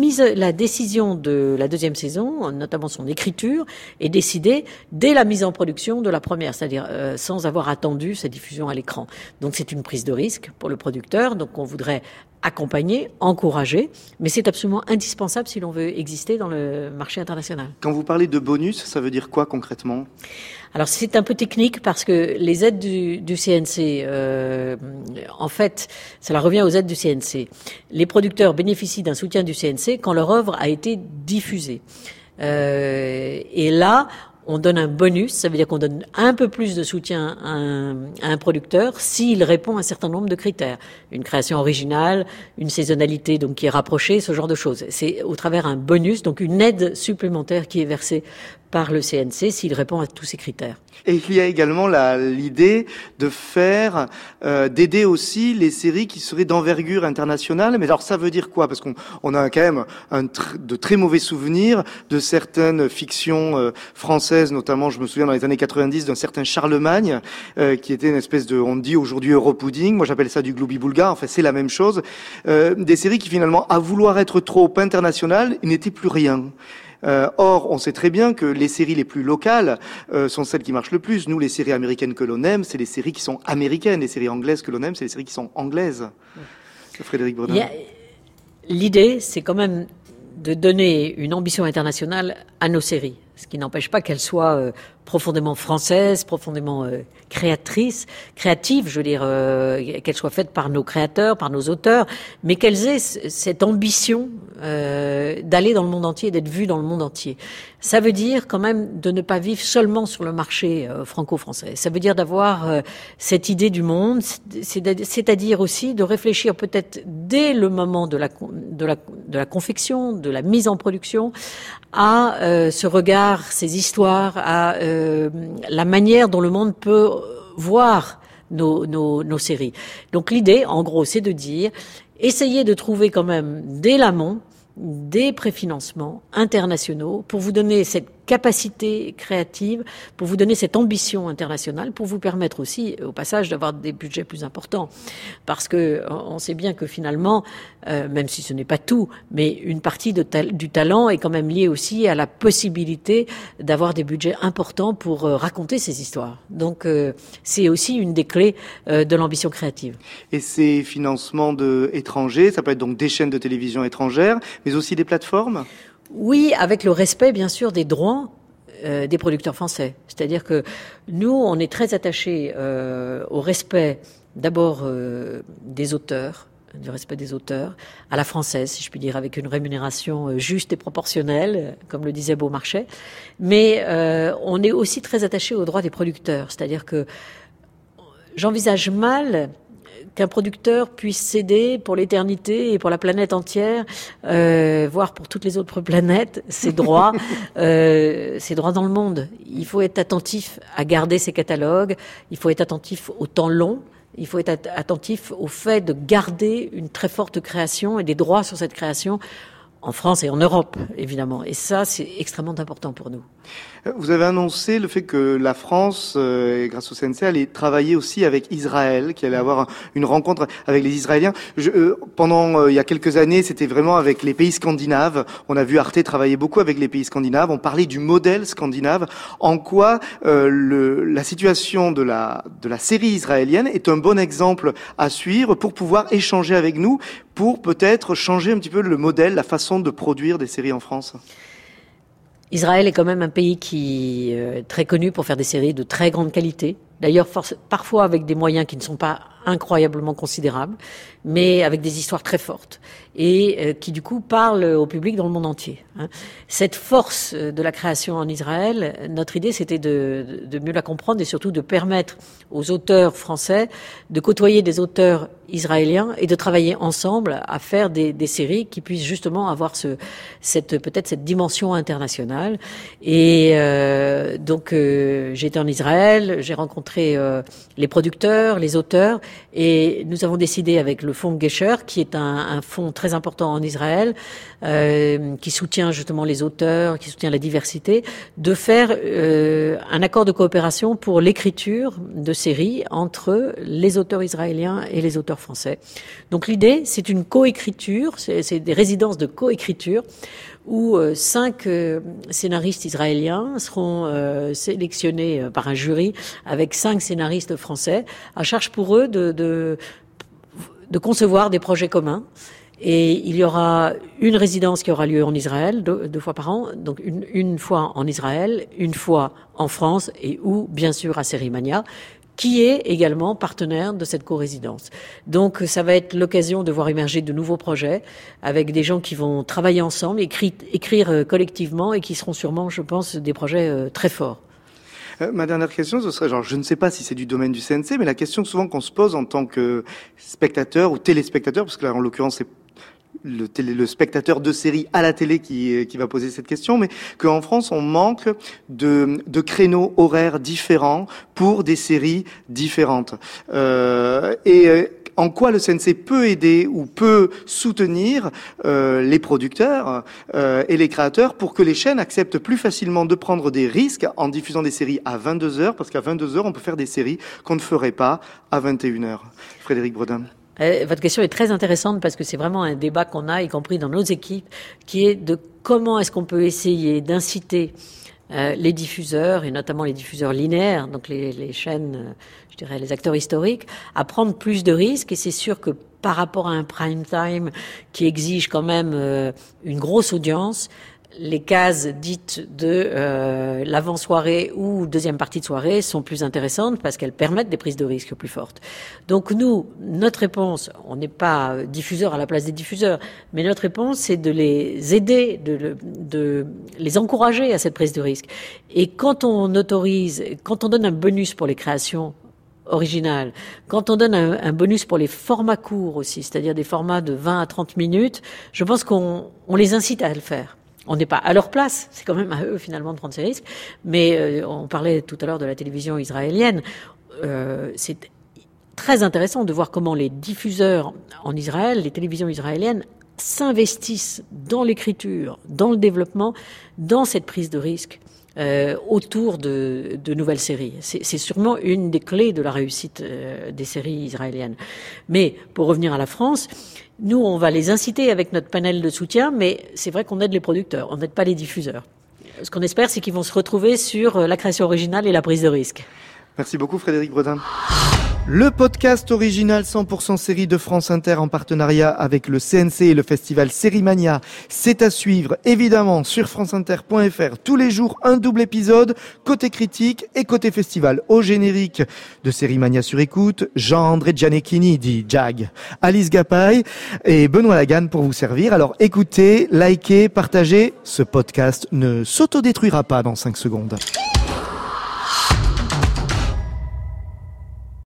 de la deuxième saison, notamment son écriture, est décidée dès la mise en production de la première, c'est-à-dire sans avoir attendu sa diffusion à l'écran. Donc c'est une prise de risque pour le producteur, donc on voudrait accompagner, encourager, mais c'est absolument indispensable si l'on veut exister dans le marché international. Quand vous parlez de bonus, ça veut dire quoi concrètement ? Alors c'est un peu technique parce que les aides du CNC, en fait, cela revient aux aides du CNC. Les producteurs bénéficient d'un soutien du CNC quand leur œuvre a été diffusée. Et là, on donne un bonus, ça veut dire qu'on donne un peu plus de soutien à un producteur s'il répond à un certain nombre de critères. Une création originale, une saisonnalité donc qui est rapprochée, ce genre de choses. C'est au travers un bonus, donc une aide supplémentaire qui est versée par le CNC s'il répond à tous ces critères. Et il y a également l'idée de faire, d'aider aussi les séries qui seraient d'envergure internationale. Mais alors ça veut dire quoi ? Parce qu'on a quand même de très mauvais souvenirs de certaines fictions françaises, notamment je me souviens dans les années 90 d'un certain Charlemagne, qui était une espèce de, on dit aujourd'hui Europudding, moi j'appelle ça du gloubi-boulga, enfin c'est la même chose. Des séries qui finalement, à vouloir être trop internationales, n'étaient plus rien. Or, on sait très bien que les séries les plus locales sont celles qui marchent le plus. Nous, les séries américaines que l'on aime, c'est les séries qui sont américaines. Les séries anglaises que l'on aime, c'est les séries qui sont anglaises. Frédéric Bredin. L'idée, c'est quand même de donner une ambition internationale à nos séries. ce qui n'empêche pas qu'elle soit profondément française, profondément créative, je veux dire, qu'elle soit faite par nos créateurs, par nos auteurs, mais qu'elles aient cette ambition d'aller dans le monde entier, d'être vues dans le monde entier. Ça veut dire quand même de ne pas vivre seulement sur le marché franco-français. Ça veut dire d'avoir cette idée du monde, c'est-à-dire aussi de réfléchir peut-être dès le moment de la confection, de la mise en production, à ce regard, ces histoires, à la manière dont le monde peut voir nos séries. Donc l'idée, en gros, c'est de dire, essayez de trouver quand même dès l'amont des préfinancements internationaux pour vous donner cette capacité créative, pour vous donner cette ambition internationale, pour vous permettre aussi, au passage, d'avoir des budgets plus importants. Parce que on sait bien que finalement, même si ce n'est pas tout, mais une partie du talent est quand même liée aussi à la possibilité d'avoir des budgets importants pour raconter ces histoires. Donc, c'est aussi une des clés de l'ambition créative. Et ces financements étrangers, ça peut être donc des chaînes de télévision étrangères, mais aussi des plateformes ? Oui, avec le respect, bien sûr, des droits des producteurs français. C'est-à-dire que nous, on est très attachés au respect, d'abord, des auteurs, du respect des auteurs, à la française, si je puis dire, avec une rémunération juste et proportionnelle, comme le disait Beaumarchais. Mais on est aussi très attachés aux droits des producteurs. C'est-à-dire que j'envisage mal qu'un producteur puisse céder pour l'éternité et pour la planète entière, voire pour toutes les autres planètes, ses droits dans le monde. Il faut être attentif à garder ses catalogues, il faut être attentif au temps long, il faut être attentif au fait de garder une très forte création et des droits sur cette création en France et en Europe, évidemment. Et ça, c'est extrêmement important pour nous. Vous avez annoncé le fait que la France, grâce au CNC, allait travailler aussi avec Israël, qu'il allait avoir une rencontre avec les Israéliens. Pendant il y a quelques années, c'était vraiment avec les pays scandinaves. On a vu Arte travailler beaucoup avec les pays scandinaves. On parlait du modèle scandinave. En quoi la situation de la série israélienne est un bon exemple à suivre pour pouvoir échanger avec nous, pour peut-être changer un petit peu le modèle, la façon de produire des séries en France? Israël est quand même un pays qui est très connu pour faire des séries de très grande qualité. D'ailleurs, parfois avec des moyens qui ne sont pas incroyablement considérables, mais avec des histoires très fortes et qui du coup parlent au public dans le monde entier. Cette force de la création en Israël, notre idée c'était de mieux la comprendre et surtout de permettre aux auteurs français de côtoyer des auteurs israéliens et de travailler ensemble à faire des séries qui puissent justement avoir peut-être cette dimension internationale. Et donc j'étais en Israël, j'ai rencontré les producteurs, les auteurs, et nous avons décidé avec le fonds Gesher, qui est un fonds très important en Israël, qui soutient justement les auteurs, qui soutient la diversité, de faire un accord de coopération pour l'écriture de séries entre les auteurs israéliens et les auteurs français. Donc l'idée, c'est une coécriture, c'est des résidences de coécriture, où 5 scénaristes israéliens seront sélectionnés par un jury avec 5 scénaristes français, à charge pour eux de concevoir des projets communs. Et il y aura une résidence qui aura lieu en Israël, deux fois par an, donc une fois en Israël, une fois en France, et ou bien sûr à Sérimania, qui est également partenaire de cette co-résidence. Donc ça va être l'occasion de voir émerger de nouveaux projets avec des gens qui vont travailler ensemble, écrire collectivement et qui seront sûrement, je pense, des projets très forts. Ma dernière question, ce serait, je ne sais pas si c'est du domaine du CNC, mais la question souvent qu'on se pose en tant que spectateur ou téléspectateur, parce que là en l'occurrence c'est le spectateur de série à la télé qui va poser cette question, mais qu'en France on manque de créneaux horaires différents pour des séries différentes. En quoi le CNC peut aider ou peut soutenir les producteurs et les créateurs pour que les chaînes acceptent plus facilement de prendre des risques en diffusant des séries à 22h, parce qu'à 22h on peut faire des séries qu'on ne ferait pas à 21h. Frédéric Bredin. Votre question est très intéressante parce que c'est vraiment un débat qu'on a, y compris dans nos équipes, qui est de comment est-ce qu'on peut essayer d'inciter les diffuseurs, et notamment les diffuseurs linéaires, donc les chaînes, je dirais les acteurs historiques, à prendre plus de risques. Et c'est sûr que par rapport à un prime time qui exige quand même une grosse audience, les cases dites de l'avant-soirée ou deuxième partie de soirée sont plus intéressantes parce qu'elles permettent des prises de risques plus fortes. Donc nous, notre réponse, on n'est pas diffuseur à la place des diffuseurs, mais notre réponse, c'est de les aider, de les encourager à cette prise de risque. Et quand on donne un bonus pour les créations originales, quand on donne un bonus pour les formats courts aussi, c'est-à-dire des formats de 20 à 30 minutes, je pense qu'on les incite à le faire. On n'est pas à leur place, c'est quand même à eux finalement de prendre ces risques, mais on parlait tout à l'heure de la télévision israélienne, c'est très intéressant de voir comment les diffuseurs en Israël, les télévisions israéliennes, s'investissent dans l'écriture, dans le développement, dans cette prise de risque autour de nouvelles séries. C'est sûrement une des clés de la réussite des séries israéliennes. Mais pour revenir à la France, nous, on va les inciter avec notre panel de soutien, mais c'est vrai qu'on aide les producteurs, on n'aide pas les diffuseurs. Ce qu'on espère, c'est qu'ils vont se retrouver sur la création originale et la prise de risque. Merci beaucoup Frédéric Bredin. Le podcast original 100% série de France Inter en partenariat avec le CNC et le festival Sérimania, c'est à suivre évidemment sur franceinter.fr tous les jours, un double épisode, côté critique et côté festival. Au générique de Sérimania sur écoute, Jean-André Gianecchini dit Jag, Alice Gapaille et Benoît Laganne pour vous servir. Alors écoutez, likez, partagez, ce podcast ne s'autodétruira pas dans 5 secondes.